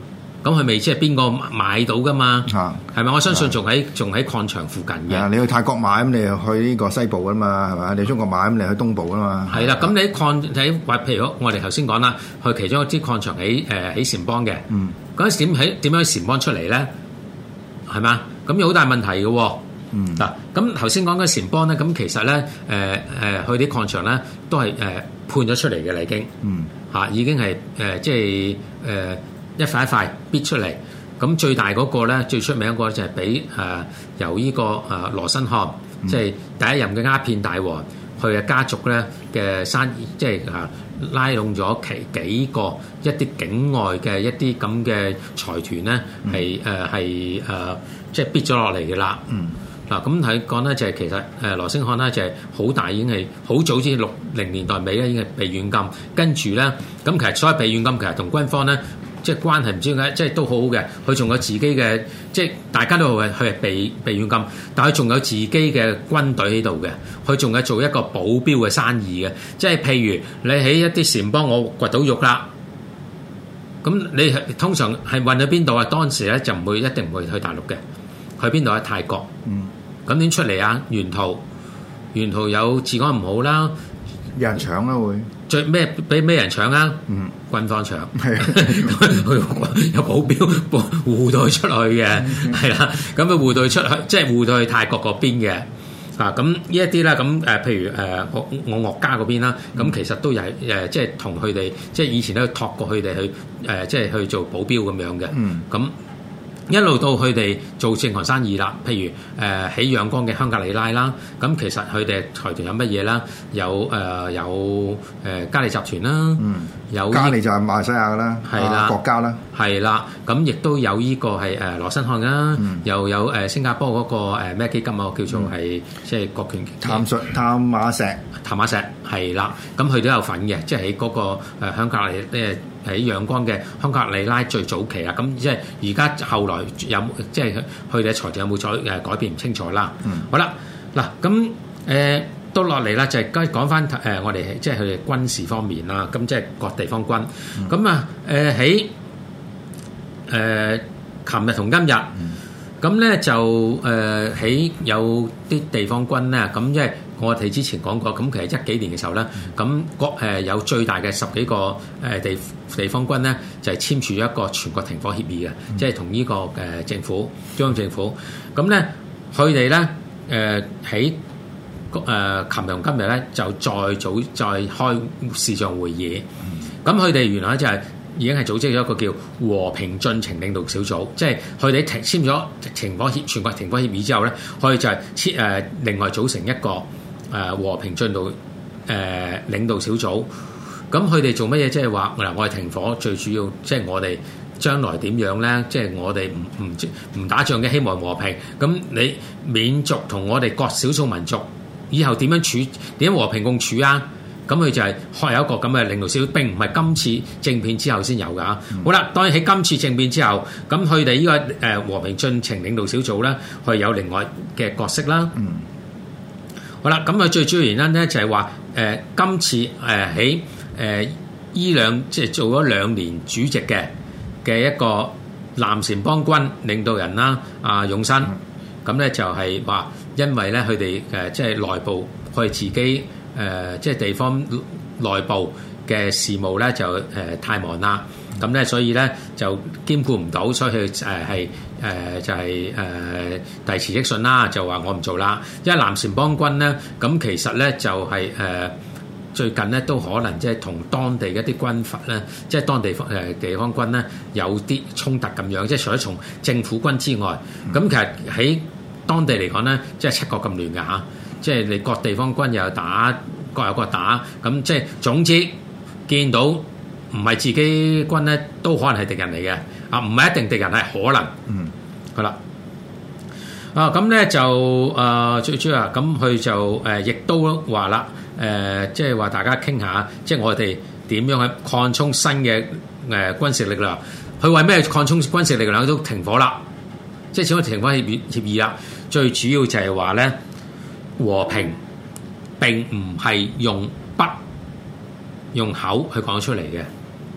咁佢未知係邊個買到噶嘛？ 嚇係咪？我相信仲喺仲喺礦場附近嘅。 你去泰國買咁，你又去呢個西部啊嘛，係咪？你中國買咁，你去東部啊嘛。 係啦，咁你喺礦喺話，譬如我哋頭先講啦，去其中一支礦場喺誒喺撣邦嘅。嗯。嗰陣時點喺點樣喺撣邦出嚟咧？係嘛？咁有好大問題嘅喎。嗯。嗱，咁頭先講嘅撣邦咧，咁其實咧誒誒去啲礦場咧都係誒判咗出嚟嘅啦，已經。嗯。嚇，已經係誒、呃、即係誒、呃、一塊一塊逼出嚟。咁最大嗰個咧，最出名嗰個就係俾誒由呢、這個誒、呃、羅新漢，嗯、即係第一任嘅鴉片大王，佢嘅家族咧嘅生意，即係啊拉攏咗其幾個一啲境外嘅一啲咁嘅財團咧，係誒係誒即係逼咗落嚟嘅啦。嗯。嗱咁睇講咧，就係其實誒羅星漢咧就係好大，已經係好早之六零年代尾咧已經係被軟禁，跟住咧咁其實所謂被軟禁其實同軍方咧即係關係唔知點解，即係都好好嘅。佢仲有自己嘅，即係大家都係佢係被被軟禁，但係佢仲有自己嘅軍隊喺度嘅，佢仲有做一個保鏢嘅生意嘅，即係譬如你喺一啲撣邦我掘到肉啦，咁你通常係運去邊度啊？當時咧就唔會一定唔會去大陸嘅，去邊度啊？泰國。嗯。咁點出嚟啊？沿途沿途有治安唔好啦， 有人搶啦會。 最咩俾咩人搶啊？嗯，軍方搶，係有保鏢護到佢出去嘅，係啦。咁佢護到佢出去，即係護到去泰國嗰邊嘅。啊，咁呢一啲啦，咁誒，譬如誒我我岳家嗰邊啦，咁其實都有誒，即係同佢哋，即係以前都託過佢哋去誒，即係去做保鏢咁樣嘅。嗯，咁。一路到佢哋做正行生意啦，譬如誒喺仰光嘅香格里拉啦，咁其實佢哋財團有乜嘢啦？有誒、呃、有誒、呃、嘉利集團啦，嗯，有嘉利就係馬來西亞噶啦，係啦，國家啦， 係啦，咁亦都有呢個係誒羅新漢啦，嗯、又有誒新加坡嗰個誒咩基金啊，叫做係、嗯、即係國權淡水淡馬錫淡馬錫係啦，咁佢都有份嘅，即係喺嗰個誒香格里誒。喺仰光嘅香格里拉最早期啊，咁即係而家後來有即係佢哋嘅財團有冇再誒改變唔清楚啦。嗯，好啦，嗱咁誒都落嚟啦，就係講講翻誒我哋即係佢哋軍事方面啦。咁即係各地方軍。咁啊誒喺誒琴日同今日，咁咧就誒喺有啲地方軍咧，咁即係。我哋之前講過，咁其實一幾年嘅時候咧，咁國誒有最大嘅十幾個誒地地方軍咧，就係簽署咗一個全國停火協議嘅，嗯、即係同呢個誒政府中央政府。咁咧，佢哋咧誒喺誒琴日同今日咧，就再組再開視像會議。咁佢哋原來就係已經係組織咗一個叫和平進程領導小組，即係佢哋停簽咗停火協全國停火協議之後咧，佢哋就係簽誒另外組成一個。誒和平進度誒領導小組，咁佢哋做乜嘢？即係話嗱，我哋停火最主要，即係我哋將來點樣咧？即係我哋唔唔唔打仗嘅，希望和平。咁你緬族同我哋各少數民族以後點樣處？點樣和平共處啊？咁佢就係開有一個咁嘅領導小組，並唔係今次政變之後先有㗎。嗯、好啦，當然喺今次政變之後，咁佢哋呢個誒和平進程領導小組咧，佢有另外嘅角色啦。嗯。好啦，咁啊最主要原因咧就係話誒今次誒喺誒依兩即係做咗兩年主席嘅嘅一個南撣邦軍領導人啦，阿、呃、勇新，咁咧就係話因為咧佢哋誒即係內部佢哋自己誒、呃、即係地方內部嘅事務咧就誒、呃、太忙啦，咁咧所以咧就兼顧唔到，所以佢誒係。誒、呃、就係、是、誒、呃、遞辭職信啦，就話我唔做啦。因為南撣邦軍咧，咁其實咧就係、是、誒、呃、最近咧都可能即係同當地一啲軍閥咧，即係當地方誒地方軍咧有啲衝突咁樣。即係除咗從政府軍之外，咁、嗯、其實喺當地嚟講咧，即係七國咁亂㗎嚇。即係你各地方軍又有打，各有各打。咁即係總之見到唔係自己軍咧，都可能係敵人嚟嘅。啊，唔係一定敵人，係可能。嗯，係啦。啊，咁咧就誒、呃、最主要啊，咁佢就誒亦、呃、都話啦，誒即係話大家傾下，即係我哋點樣去擴充新嘅誒、呃、軍事力量。佢為咩擴充軍事力量都停火啦？即係始終停火協議協議啦。最主要就係話咧，和平並唔係用筆用口去講出嚟嘅。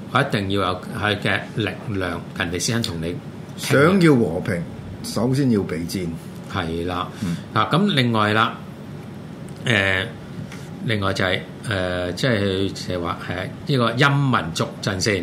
我一定要有佢嘅力量，人哋先肯同你想要和平，首先要備戰。 係啦，啊咁另外啦，誒、呃、另外就係、是、誒、呃、即係就係話係呢個陰民族陣線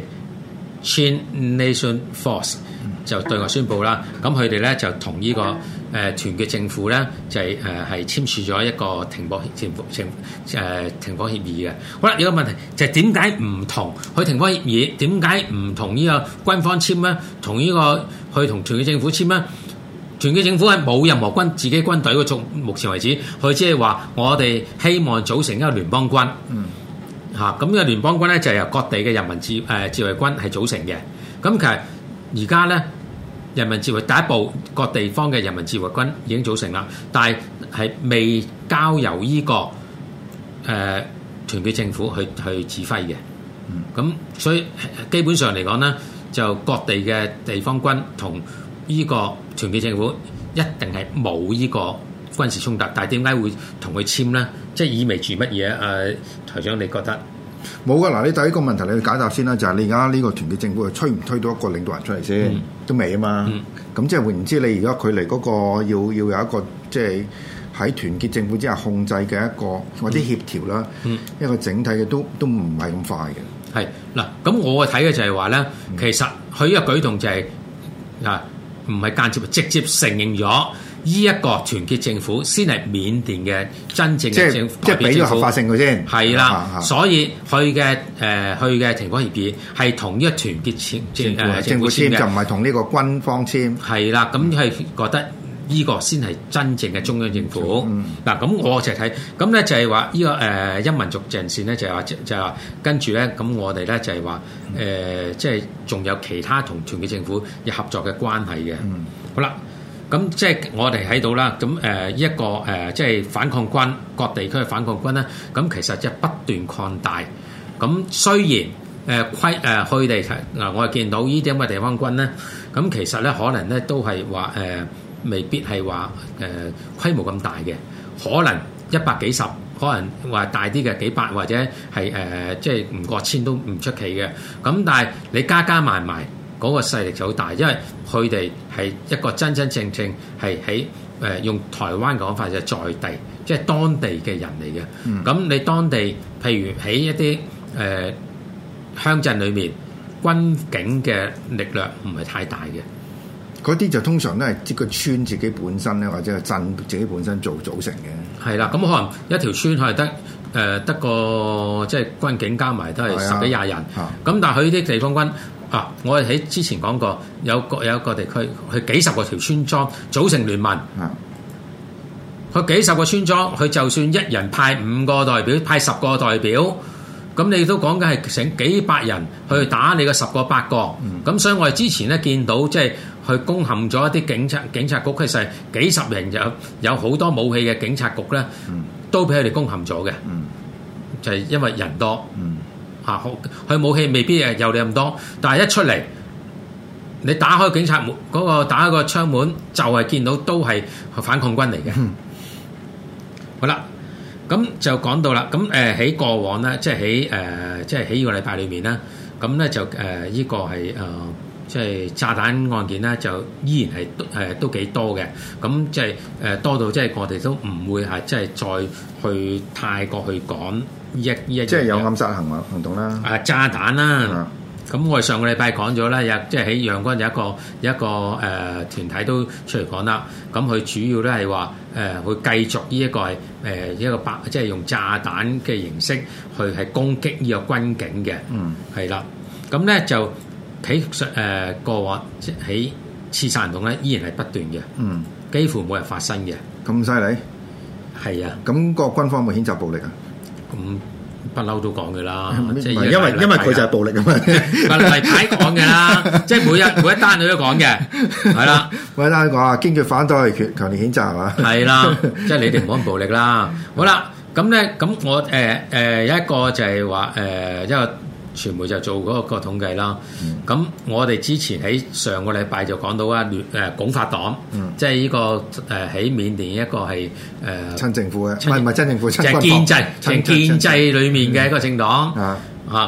Chin Nation Force 就對外宣佈啦，咁佢哋咧就同呢、這個誒、呃、團結政府咧就係誒係簽署咗一個停火停停誒停火協議嘅。好啦，有個問題就係點解唔同佢停火協議？點解唔同呢個軍方簽咧？同呢、這個去同團結政府簽咧？團結政府係冇任何軍自己軍隊嘅，從目前為止，佢只係話我哋希望組成一個聯邦軍。嗯，嚇咁呢個聯邦軍咧就係由各地嘅人民自誒自衛軍係組成嘅。咁其實而家咧人民自衛第一步，各地方嘅人民自衛軍已經組成啦，但係係未交由呢、這個誒、呃、團結政府去去指揮嘅。嗯，咁所以基本上嚟講咧，就各地嘅地方軍同呢個團結政府一定係冇呢個軍事衝突，但係點解會同佢簽咧？即係意味住乜嘢？誒、呃，台長，你覺得冇噶？嗱，你第一個問題你去解答先啦，就係、是、你而家呢個團結政府係推唔推到一個領導人出嚟先？嗯、都未啊嘛。咁、嗯、即係換言之，你而家距離嗰個要要有一個即係喺團結政府之下控制嘅一個或者協調啦，嗯、一個整體嘅都都唔係咁快嘅。 係嗱，咁我睇嘅就係話咧，嗯、其實佢呢個舉動就係、是、啊。唔係間接，直接承認咗呢一個團結政府先係緬甸嘅真正嘅政府， 即係俾咗合法性佢先。 係啦，啊啊、所以佢嘅誒佢嘅停火協議係同呢個團結簽政誒政府簽，就唔係同呢個軍方簽。係啦，咁係覺得呢個先係真正嘅中央政府。嗱、嗯，咁我就睇，咁咧就係話呢個誒陰民族陣線咧就係話就係話跟住咧，咁我哋咧就係話誒，即係仲有其他同團結政府有合作嘅關係嘅。嗯、好啦，咁即係我哋喺度啦，咁誒一個誒即係反抗軍各地區嘅反抗軍咧，咁其實即係不斷擴大。咁雖然誒規誒佢哋嗱，我哋見到呢啲咁嘅地方軍咧，咁其實咧可能咧都係話誒。呃未必係話誒規模咁大嘅，可能一百幾十，可能話大啲嘅幾百，或者係誒、呃、即係唔過千都唔出奇嘅。咁但係你加加埋埋嗰個勢力就好大，因為佢哋係一個真真正正係喺誒用台灣講法就係在地，即係當地嘅人嚟嘅。咁、嗯、你當地譬如喺一啲誒、呃、鄉鎮裏面，軍警嘅力量唔係太大嘅。 嗰啲就通常都係即個村自己本身咧，或者係鎮自己本身做組成嘅。 係啦，咁可能一條村係得誒得個即係軍警加埋都係十幾廿人。咁、啊、但係佢啲地方軍啊，我哋喺之前講過，有個有一個地區，佢幾十個條村莊組成聯盟。佢、啊、幾十個村莊，佢就算一人派五個代表，派十個代表，咁你都講緊係成幾百人去打你個十個八個。咁、嗯、所以我哋之前咧見到即係。去攻陷咗一啲警察警察局，其實幾十人有有好多武器嘅警察局咧，嗯、都俾佢哋攻陷咗嘅，嗯、就係因為人多嚇，佢、嗯啊、武器未必誒有你咁多，但係一出嚟，你打開警察門嗰、嗰個打開個窗門，就係、是、見到都係反抗軍嚟嘅。嗯、好啦，咁就講到啦，咁誒喺過往咧，即係喺誒即係喺呢個禮拜裏面咧，咁咧就誒呢、呃呢個係誒。呃即係炸彈案件咧，就依然係誒、呃、都幾多嘅。咁即係誒多到即係我哋都唔會係即係再去太過去講呢一呢一。即係有暗殺行為行動啦。 啊，炸彈啦。咁、嗯、我哋上個禮拜講咗啦，有即係喺陽光有一個有一個誒、呃、團體都出嚟講啦。咁佢主要咧係話誒會繼續呢一個係誒、呃、一個白，即係用炸彈嘅形式去係攻擊呢個軍警嘅。嗯，係啦。咁咧就。喺誒過往即喺刺殺行動咧，依然係不斷嘅，嗯，幾乎冇人發生嘅， 咁犀利， 係啊， 咁個軍方會譴責暴力啊？ 咁不嬲都講嘅啦， 即係因為因為佢就係暴力啊嘛， 例牌講嘅啦，即係每一每一單佢都講嘅，係啦， 每一單講啊，堅決反對，強強烈譴責係嘛？係啦，即係你哋唔好咁暴力啦。好啦，咁咧咁我誒誒、呃、有一個就係話誒一個。傳媒就做嗰個統計啦，咁、嗯、我哋之前喺上個禮拜就講到啊，聯誒鞏發黨，嗯、即係呢、這個誒喺緬甸一個係誒、呃、親政府嘅，唔係唔係親政府， 就係建制，就係建制裡面嘅一個政黨、嗯、啊，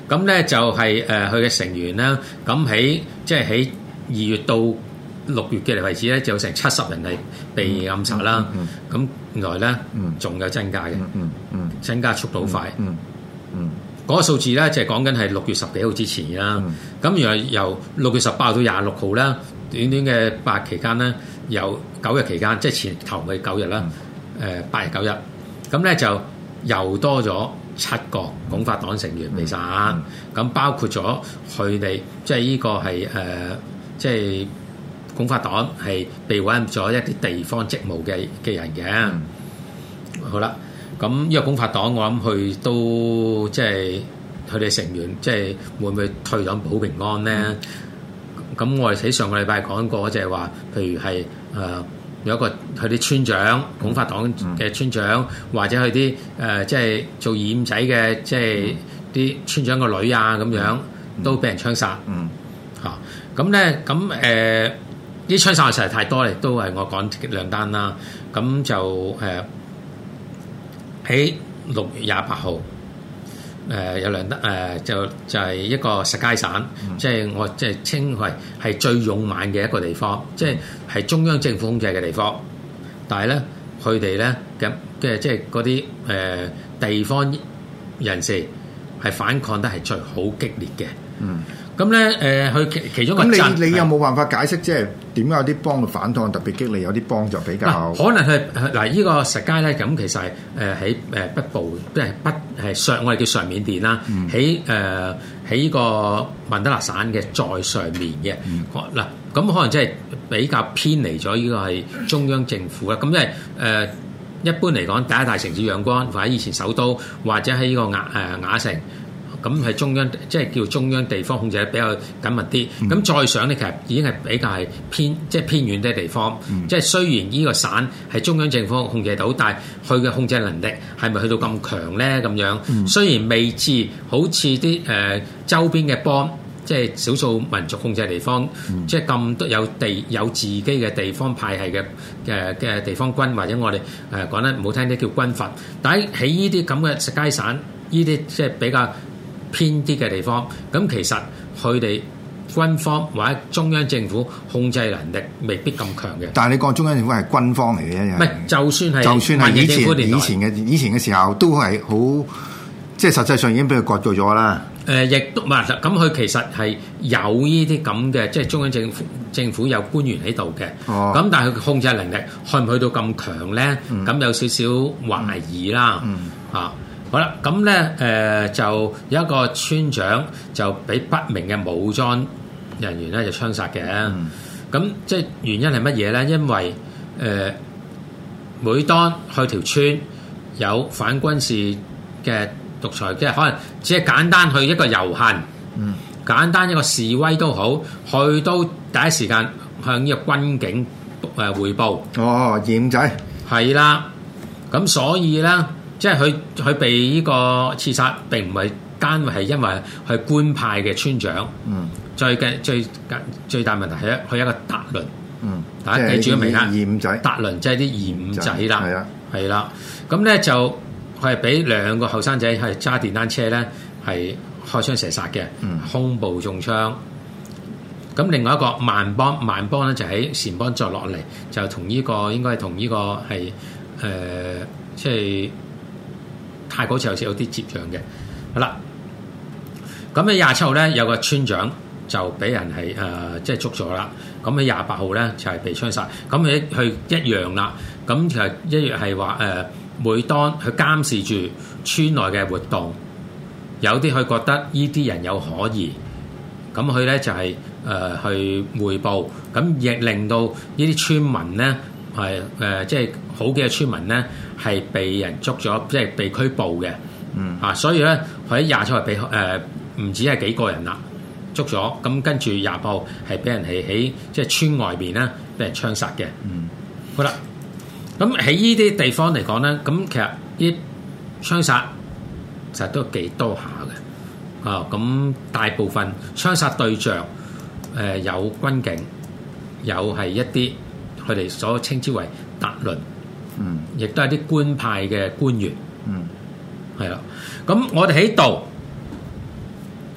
咁咧就係誒佢嘅成員啦。咁喺即係喺二月到六月嘅為止咧，就有成七十人係被暗殺啦。咁原來咧仲有增加嘅，增加速度快。 嗯嗯， 嗰個數字咧就係講緊係六月十幾號之前啦。咁原來由六月十八號到廿六號啦，短短嘅八日期間咧，有九日期間，即係前頭嘅九日啦。誒八日九日，咁咧就又多咗七個鞏發黨成員被殺，咁、嗯、包括咗佢哋，即係呢個係誒，即係鞏發黨係被委任咗一啲地方職務嘅嘅人嘅。嗯、好啦，咁呢個鞏發黨，我諗佢都即係佢哋成員，即係會唔會退黨保平安咧？咁、嗯、我哋喺上個禮拜講過，就係話，譬如係誒。呃有一個佢啲村長，鞏發黨嘅村長，嗯、或者佢啲誒即係做二五仔嘅，即係啲村長個女啊咁樣，嗯、都俾人槍殺。嗯，嚇咁咧，咁誒啲槍殺實在太多咧，都係我講兩單啦。咁就誒喺六月廿八號。誒、呃、有兩得誒、呃、就就係、是、一個石階省，嗯、即係我即係稱為係最勇猛嘅一個地方，即係係中央政府控制嘅地方。但係咧，佢哋咧嘅嘅即係嗰啲誒地方人士係反抗得係最好激烈嘅。嗯，咁咧誒，佢其其中一個咁你你有冇辦法解釋即係點解有啲幫嘅反抗特別激烈，有啲幫就比較可能係嗱呢個石階咧，咁其實係誒喺誒北部，即係北係上我哋叫上緬甸啦，喺誒喺呢個曼德勒省嘅再上面嘅嗱，咁、嗯、可能即係比較偏離咗呢個係中央政府啦。咁因為誒、呃、一般嚟講，第一大城市仰光或者以前首都，或者喺呢個雅誒雅城。咁係中央，即係叫中央地方控制得比較緊密啲。咁、嗯、再上咧，其實已經係比較係偏，即係偏遠啲地方。嗯、即係雖然呢個省係中央政府控制到，但係佢嘅控制能力係咪去到咁強咧？咁樣、嗯、雖然未至好似啲誒周邊嘅邦，即係少數民族控制嘅地方，嗯、即係咁多有地有自己嘅地方派系嘅嘅嘅地方軍，或者我哋誒講得唔好聽啲叫軍閥。但係喺呢啲咁嘅石階省，呢啲即係比較偏啲嘅地方，咁其實佢哋軍方或者中央政府控制能力未必咁強嘅。但係你講中央政府係軍方嚟嘅，唔係就算係就算係以前以前嘅以前嘅時候，都係好即係實際上已經俾佢割據咗啦。誒、呃，亦都唔係咁，佢其實係有呢啲咁嘅，即係中央政府政府有官員喺度嘅。哦，咁但係佢控制能力去唔去到咁強咧？咁、嗯、有少少懷疑啦。嗯，嗯啊。好啦，咁咧誒就有一個村長就俾不明嘅武裝人員咧就槍殺嘅。咁、嗯、即係原因係乜嘢咧？因為誒、呃、每當去條村有反軍事嘅獨裁，即係可能只係簡單去一個遊行，嗯、簡單一個示威都好，去到第一時間向呢個軍警誒彙報。哦，二五仔係啦，咁所以咧。即係佢佢被呢個刺殺並唔係單係因為係官派嘅村長，嗯，最嘅最最大問題係佢一個達倫，嗯，大家記住個名啊，二五仔，達倫即係啲二五仔啦，係啊，係啦，咁咧就佢係俾兩個後生仔係揸電單車咧係開槍射殺嘅，嗯，胸部中槍。咁另外一個萬邦萬邦咧就喺撣邦再落嚟，就同呢、這個應該係同呢個係誒、呃、即係。泰國好似有啲接壤嘅，好啦。咁喺廿七號咧，有個村長就俾人係誒、呃、即係捉咗啦。咁喺廿八號咧就係、是、被槍殺。咁佢佢一樣啦。咁其實一樣係話誒，每當佢監視住村內嘅活動，有啲佢覺得呢啲人有可疑，咁佢咧就係、是、誒、呃、去彙報，咁亦令到呢啲村民咧係誒即係好幾個村民咧。係被人捉咗，即係被拘捕嘅，嗯啊，所以咧佢喺廿七號被誒唔止係幾個人啦，捉咗，咁跟住廿八號係俾人係喺即係村外邊咧俾人槍殺嘅，嗯，好啦，咁喺呢啲地方嚟講咧，咁其實啲槍殺其實都幾多下嘅，啊，咁大部分槍殺對象誒、呃、有軍警，有係一啲佢哋所稱之為達倫。嗯，亦都係啲官派嘅官員，嗯，係啦。咁我哋喺度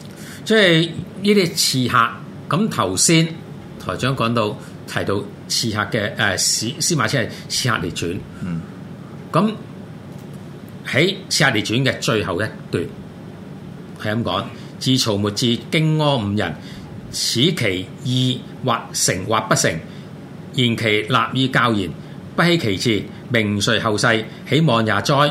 即係呢啲刺客。咁頭先台長講到提到刺客嘅誒司司馬遷係刺客列傳，嗯，咁喺刺客列傳嘅最後一段係咁講：自曹沫至荊軻五人，此其意或成或不成，言其立意教言，不希其志，名垂後世，喜望也哉！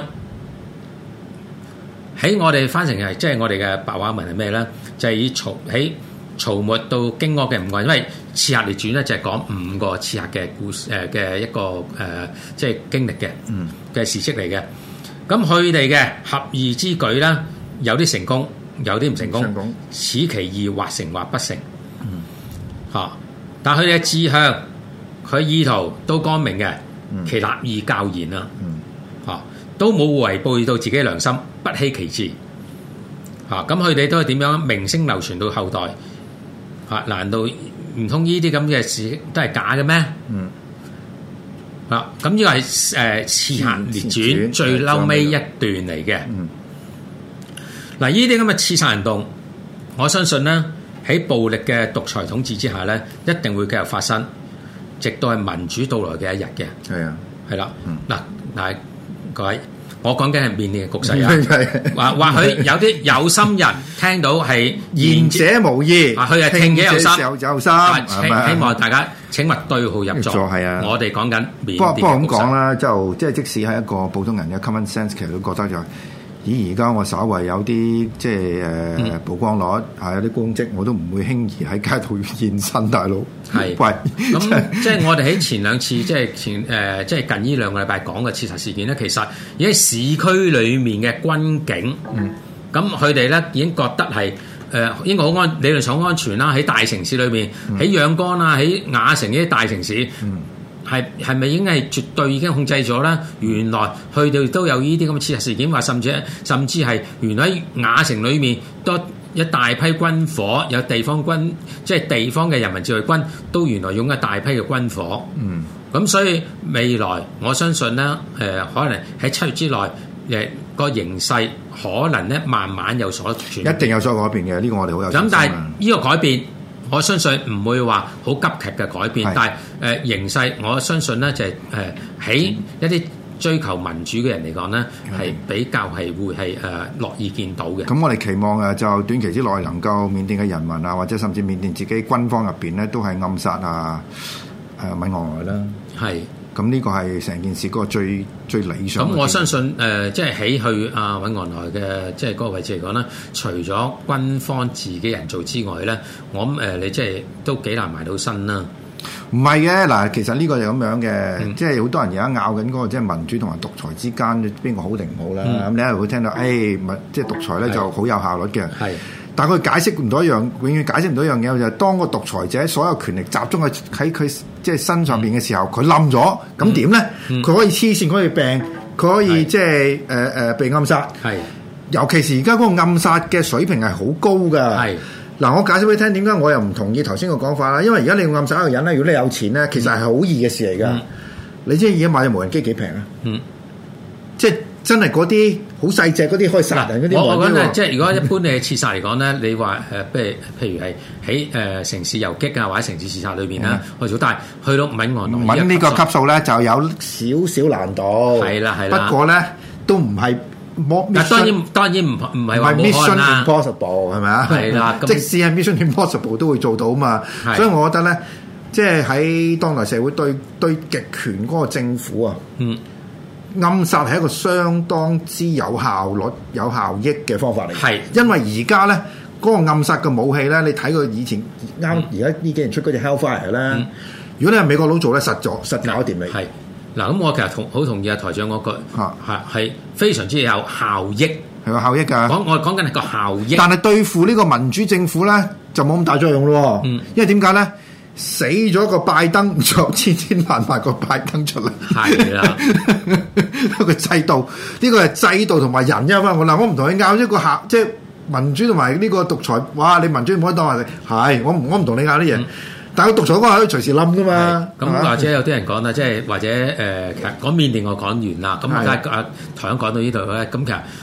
喺我哋翻成係即係我哋嘅白話文係咩咧？就係、是、以曹喺曹沫到荊軻嘅五個人，因為刺客列傳咧就係講五個刺客嘅故事誒嘅一個誒、呃、即係經歷嘅嘅事蹟嚟嘅。咁佢哋嘅合意之舉咧，有啲成功，有啲唔成功。成功此其意或成或不成。嗯，嚇！但係佢哋嘅志向，佢意圖都光明嘅，嗯、其立意教言啦，嚇、嗯、都冇違背到自己良心，不希其志。嚇！咁佢哋都係點樣名聲流傳到後代？嚇！難道唔通呢啲咁嘅事都係假嘅咩？嗯。嗱，咁呢個係誒刺客列傳最嬲尾一段嚟嘅。嗯。嗱，呢啲咁嘅刺殺行動，我相信咧喺暴力嘅獨裁統治之下咧，一定會繼續發生，直到係民主到來嘅一日嘅。係啊，係啦。嗱，嗱，各位。我講緊係緬甸嘅局勢啊！或或許有啲有心人聽到係言者無意， 佢係聽者有心， 有心。 希望大家請勿對號入座。係啊，我哋講緊緬甸嘅局勢。不過不過咁講啦，就即係即使係一個普通人嘅 common sense，其實都覺得就係。咦！而家我稍為有啲即係誒曝光率，係有啲公職，我都唔會輕易喺街度現身，大佬。係，喂，咁即係我哋喺前兩次，即係前誒，即係近呢兩個禮拜講嘅刺殺事件咧，其實而喺市區裡面嘅軍警，嗯，咁佢哋咧已經覺得係誒應該好安，理論上好安全啦。喺大城市裏面，喺仰光啊，喺亞城呢啲大城市，嗯。係係咪已經係絕對已經控制咗咧？原來佢哋都有呢啲咁嘅刺殺事件，話甚至甚至係原來喺亞城裏面多一大批軍火，有地方軍即係地方嘅人民自衛軍都原來擁一大批嘅軍火。嗯，咁所以未來我相信咧，誒、呃、可能喺七月之內，誒、呃、個形勢可能咧慢慢有所轉， 一定有所改變嘅。呢、這個我哋好有信心。 咁但係呢個改變。我相信唔會話好急劇嘅改變，但係誒、呃、形勢，我相信咧就係誒喺一啲追求民主嘅人嚟講咧，係比較係會係誒樂意見到嘅。 咁我哋期望誒就短期之內能夠緬甸嘅人民啊，或者甚至緬甸自己軍方入邊咧，都係暗殺啊誒敏昂萊啦。係。咁呢個係成件事嗰個最最理想。咁我相信誒、呃，即係起去阿敏昂萊嘅即係嗰個位置嚟講咧，除咗軍方自己人做之外咧，我諗誒、呃、你即係都幾難埋到身啦。 唔係嘅嗱，其實呢個就咁樣嘅，嗯、即係好多人而家拗緊嗰個即係民主同埋獨裁之間邊個好定唔好啦。咁、嗯、你一路會聽到誒，民、哎、即係獨裁咧就好有效率嘅。係。但係佢解釋唔到一樣，永遠解釋唔到一樣嘢，就係、是、當個獨裁者所有權力集中喺喺佢即係身上邊嘅時候，佢冧咗，咁點咧？佢、嗯、可以黐線，佢可以病，佢可以即係誒誒被暗殺。係，尤其是而家嗰個暗殺嘅水平係好高㗎。係，嗱，我解釋俾你聽，點解我又唔同意頭先個講法啦？因為而家你暗殺一個人咧，如果你有錢咧，其實係好易嘅事嚟㗎。嗯、你知而家買隻無人機幾平啊？嗯，即係。真係嗰啲好細隻嗰啲可以殺人嗰啲， 我我覺得即係如果一般你刺殺嚟講咧，你話誒，譬如譬如係喺誒城市遊擊啊，或者城市刺殺裏邊啦，去做，但係去到敏昂萊揾呢個級數咧，就有少少難度。係啦係啦，不過咧都唔係冇。 但當然當然唔唔係話冇可能啦。 Mission Impossible 係咪啊？係啦，即使係 Mission Impossible 都會做到嘛。所以我覺得咧，即係喺當代社會對對極權嗰個政府啊，嗯。暗殺係一個相當之有效率、有效益嘅方法嚟。係，因為而家咧嗰個暗殺嘅武器咧，你睇佢以前啱而家呢幾年出嗰隻 Hellfire 咧，嗯、如果你係美國佬做咧，實咗實搞掂你。係嗱，咁我其實同好同意阿台長嗰句嚇係係非常之有效益， 係個效益㗎。 講我講緊係個效益， 但係對付呢個民主政府咧就冇咁大作用咯。嗯，因為點解咧？死咗個拜登，就千千萬萬個拜登出嚟，係啦，一個制度，呢個係制度同埋人因嘛。我嗱，我唔同你拗一個客，即係民主同埋呢個獨裁。哇，你民主唔可以當係係，我唔我唔同你拗啲嘢。嗯、但係個獨裁嗰個可以隨時冧噶嘛。咁或者有啲人講啦，即係或者誒、呃，其實講緬甸我講完啦。咁而家阿台長講到呢度咧，咁其實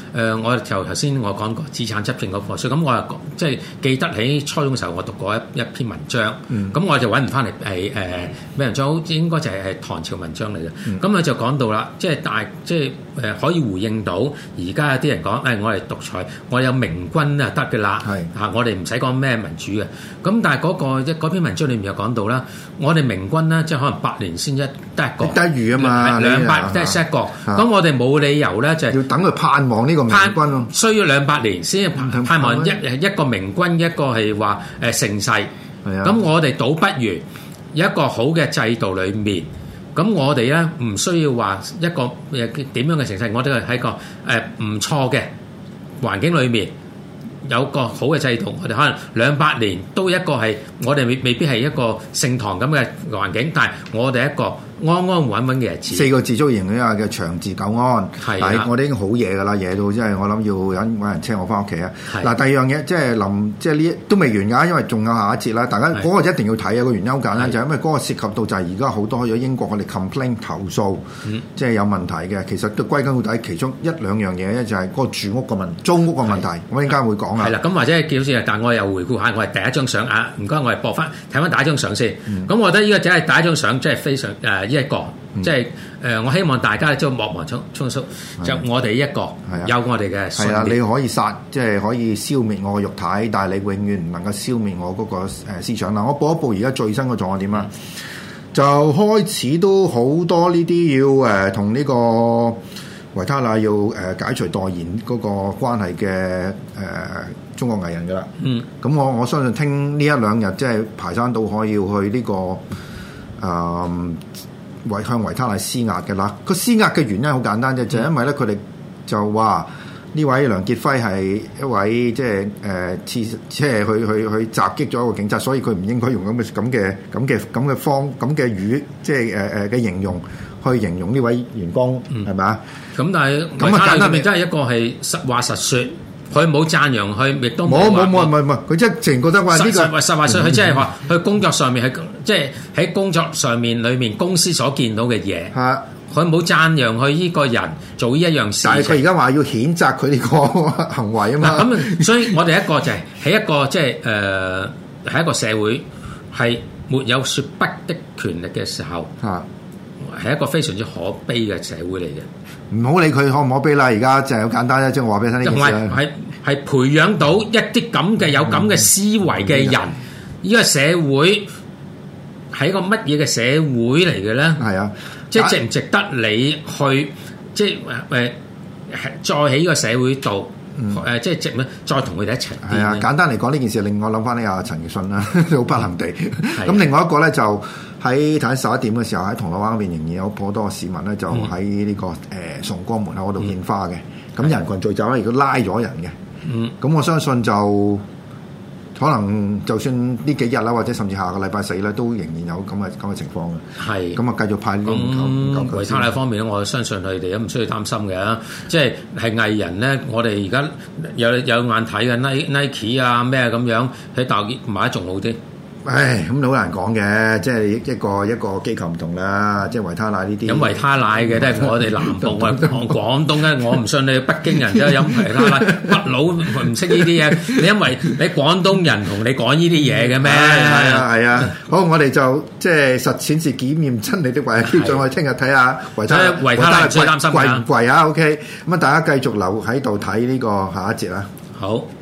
呃，我就頭先我講過資產執政嗰課，所以咁我又即係記得喺初中嘅時候，我讀過一一篇文章，咁、嗯、我就揾唔翻嚟係誒咩文章，好應該就係係唐朝文章嚟嘅。咁佢、嗯、就講到啦，即係大即係誒可以回應到而家有啲人講誒、哎，我係獨裁，我有明君啊得嘅啦，嚇是、啊、我哋唔使講咩民主嘅。咁但係嗰、那個嗰篇文章裏面又講到啦，我哋明君咧即係可能百年先一得一個，得一遇啊嘛，兩百得一個。咁我哋冇理由咧就係、是、 要等佢盼望呢個明君咯， 需要兩百年先盼望一一個明君，一個係話誒盛世。咁的我哋倒不如有一個好嘅制度裏面，咁我哋咧唔需要話一個誒點樣嘅盛世，我哋係喺個誒唔錯嘅環境裏面。有個好嘅制度，我哋可能兩百年都一個係我哋未未必係一個聖堂咁嘅環境，但係我哋一個安安穩穩嘅日子。四個字足形容一下嘅長治久安。係的，我哋已經好夜㗎啦，夜到即係我諗要揾揾人車我翻屋企啊。嗱的，第二樣嘢即係臨即係呢都未完㗎，因為仲有下一節啦。大家嗰個一定要睇啊，個原因好簡單，的就係因為嗰個涉及到就係而家好多去咗英國我哋 complain 投訴，嗯、即係有問題嘅。其實都歸根到底，其中一兩樣嘢咧就係嗰個住屋個問租屋個問題。的我陣間會講。係啦，咁或者係叫先，但我又回顧下，我係第一張相啊，唔該，我係播翻睇翻第一張相先。咁、嗯、我覺得呢個只係第一張相，即係非常誒呢一個，嗯、即係誒、呃、我希望大家即係莫忘匆匆疏，就我哋一個有我哋嘅。係啊，你可以殺，即係可以消滅我嘅肉體，但係你永遠唔能夠消滅我嗰個誒思想啦。我播一播而家最新嘅狀況點啊？嗯、就開始都好多呢啲要誒同呢個維他奶要誒解除代言嗰個關係嘅誒、呃、中國藝人㗎啦。嗯，咁我我相信聽呢一兩日即係排山倒海要去呢、這個誒維、呃、向維他奶施壓嘅啦。個施壓嘅原因好簡單啫，就係、是、因為咧佢哋就話呢位梁傑輝係一位即係誒刺即係去去去襲擊咗一個警察，所以佢唔應該用咁嘅咁嘅咁嘅咁嘅方咁嘅語即係誒誒嘅形容。去形容呢位員工係咪啊？咁但係咁啊，簡單咪真係一個係實話實説，佢冇讚揚佢，亦都冇冇冇冇冇，佢真係淨覺得話呢個實實話實，佢即係話佢工作上面係即係喺工作上面裏面公司所見到嘅嘢。係佢冇讚揚佢呢個人做呢一樣事。但係佢而家話要譴責佢呢個行為啊嘛。咁所以我哋一個就係喺一個即係誒喺一個社會係沒有説不的權力嘅時候。嚇！係一個非常之可悲嘅社會嚟嘅，唔好理佢可唔可悲啦。而家就係好簡單啫，即係我話俾你聽呢件事。係係培養到一啲咁嘅有咁嘅思維嘅人，呢個社會係一個乜嘢嘅社會嚟嘅咧？係啊，即係值唔值得你去即係誒再喺呢個社會度誒、嗯、即係值咩？再同佢哋一齊。係啊，簡單嚟講呢件事令我諗翻呢阿陳奕迅啦，好不幸地。咁另外一個咧就。喺睇十一點嘅時候，喺銅鑼灣嗰邊仍然有好多市民咧，就喺呢、這個誒、呃、崇光門口嗰度獻花嘅。咁、嗯、人群聚集咧，亦都拉咗人嘅。嗯，咁我相信就可能就算呢幾日啦，或者甚至下個禮拜四咧，都仍然有咁嘅咁嘅情況嘅。係咁啊，繼續派呢啲唔夠唔夠。維他奶方面咧，我相信佢哋都唔需要擔心嘅。即係係藝人咧，我哋而家有有眼睇嘅 Nike 啊咩咁樣喺大陸買得仲好啲。唉，咁好難講嘅，即係一個一個機構唔同啦，即係維他奶呢啲。飲維他奶嘅都係我哋南部啊，廣東咧，我唔信你北京人都飲維他奶，北佬唔識呢啲嘢。你因為你廣東人同你講呢啲嘢嘅咩？係啊係啊。好，我哋就即係實踐是檢驗真理的唯一標準。我哋聽日睇下維他奶，維他奶唔使擔心貴唔貴啊？OK，咁啊，大家繼續留喺度睇呢個下一節啦。好。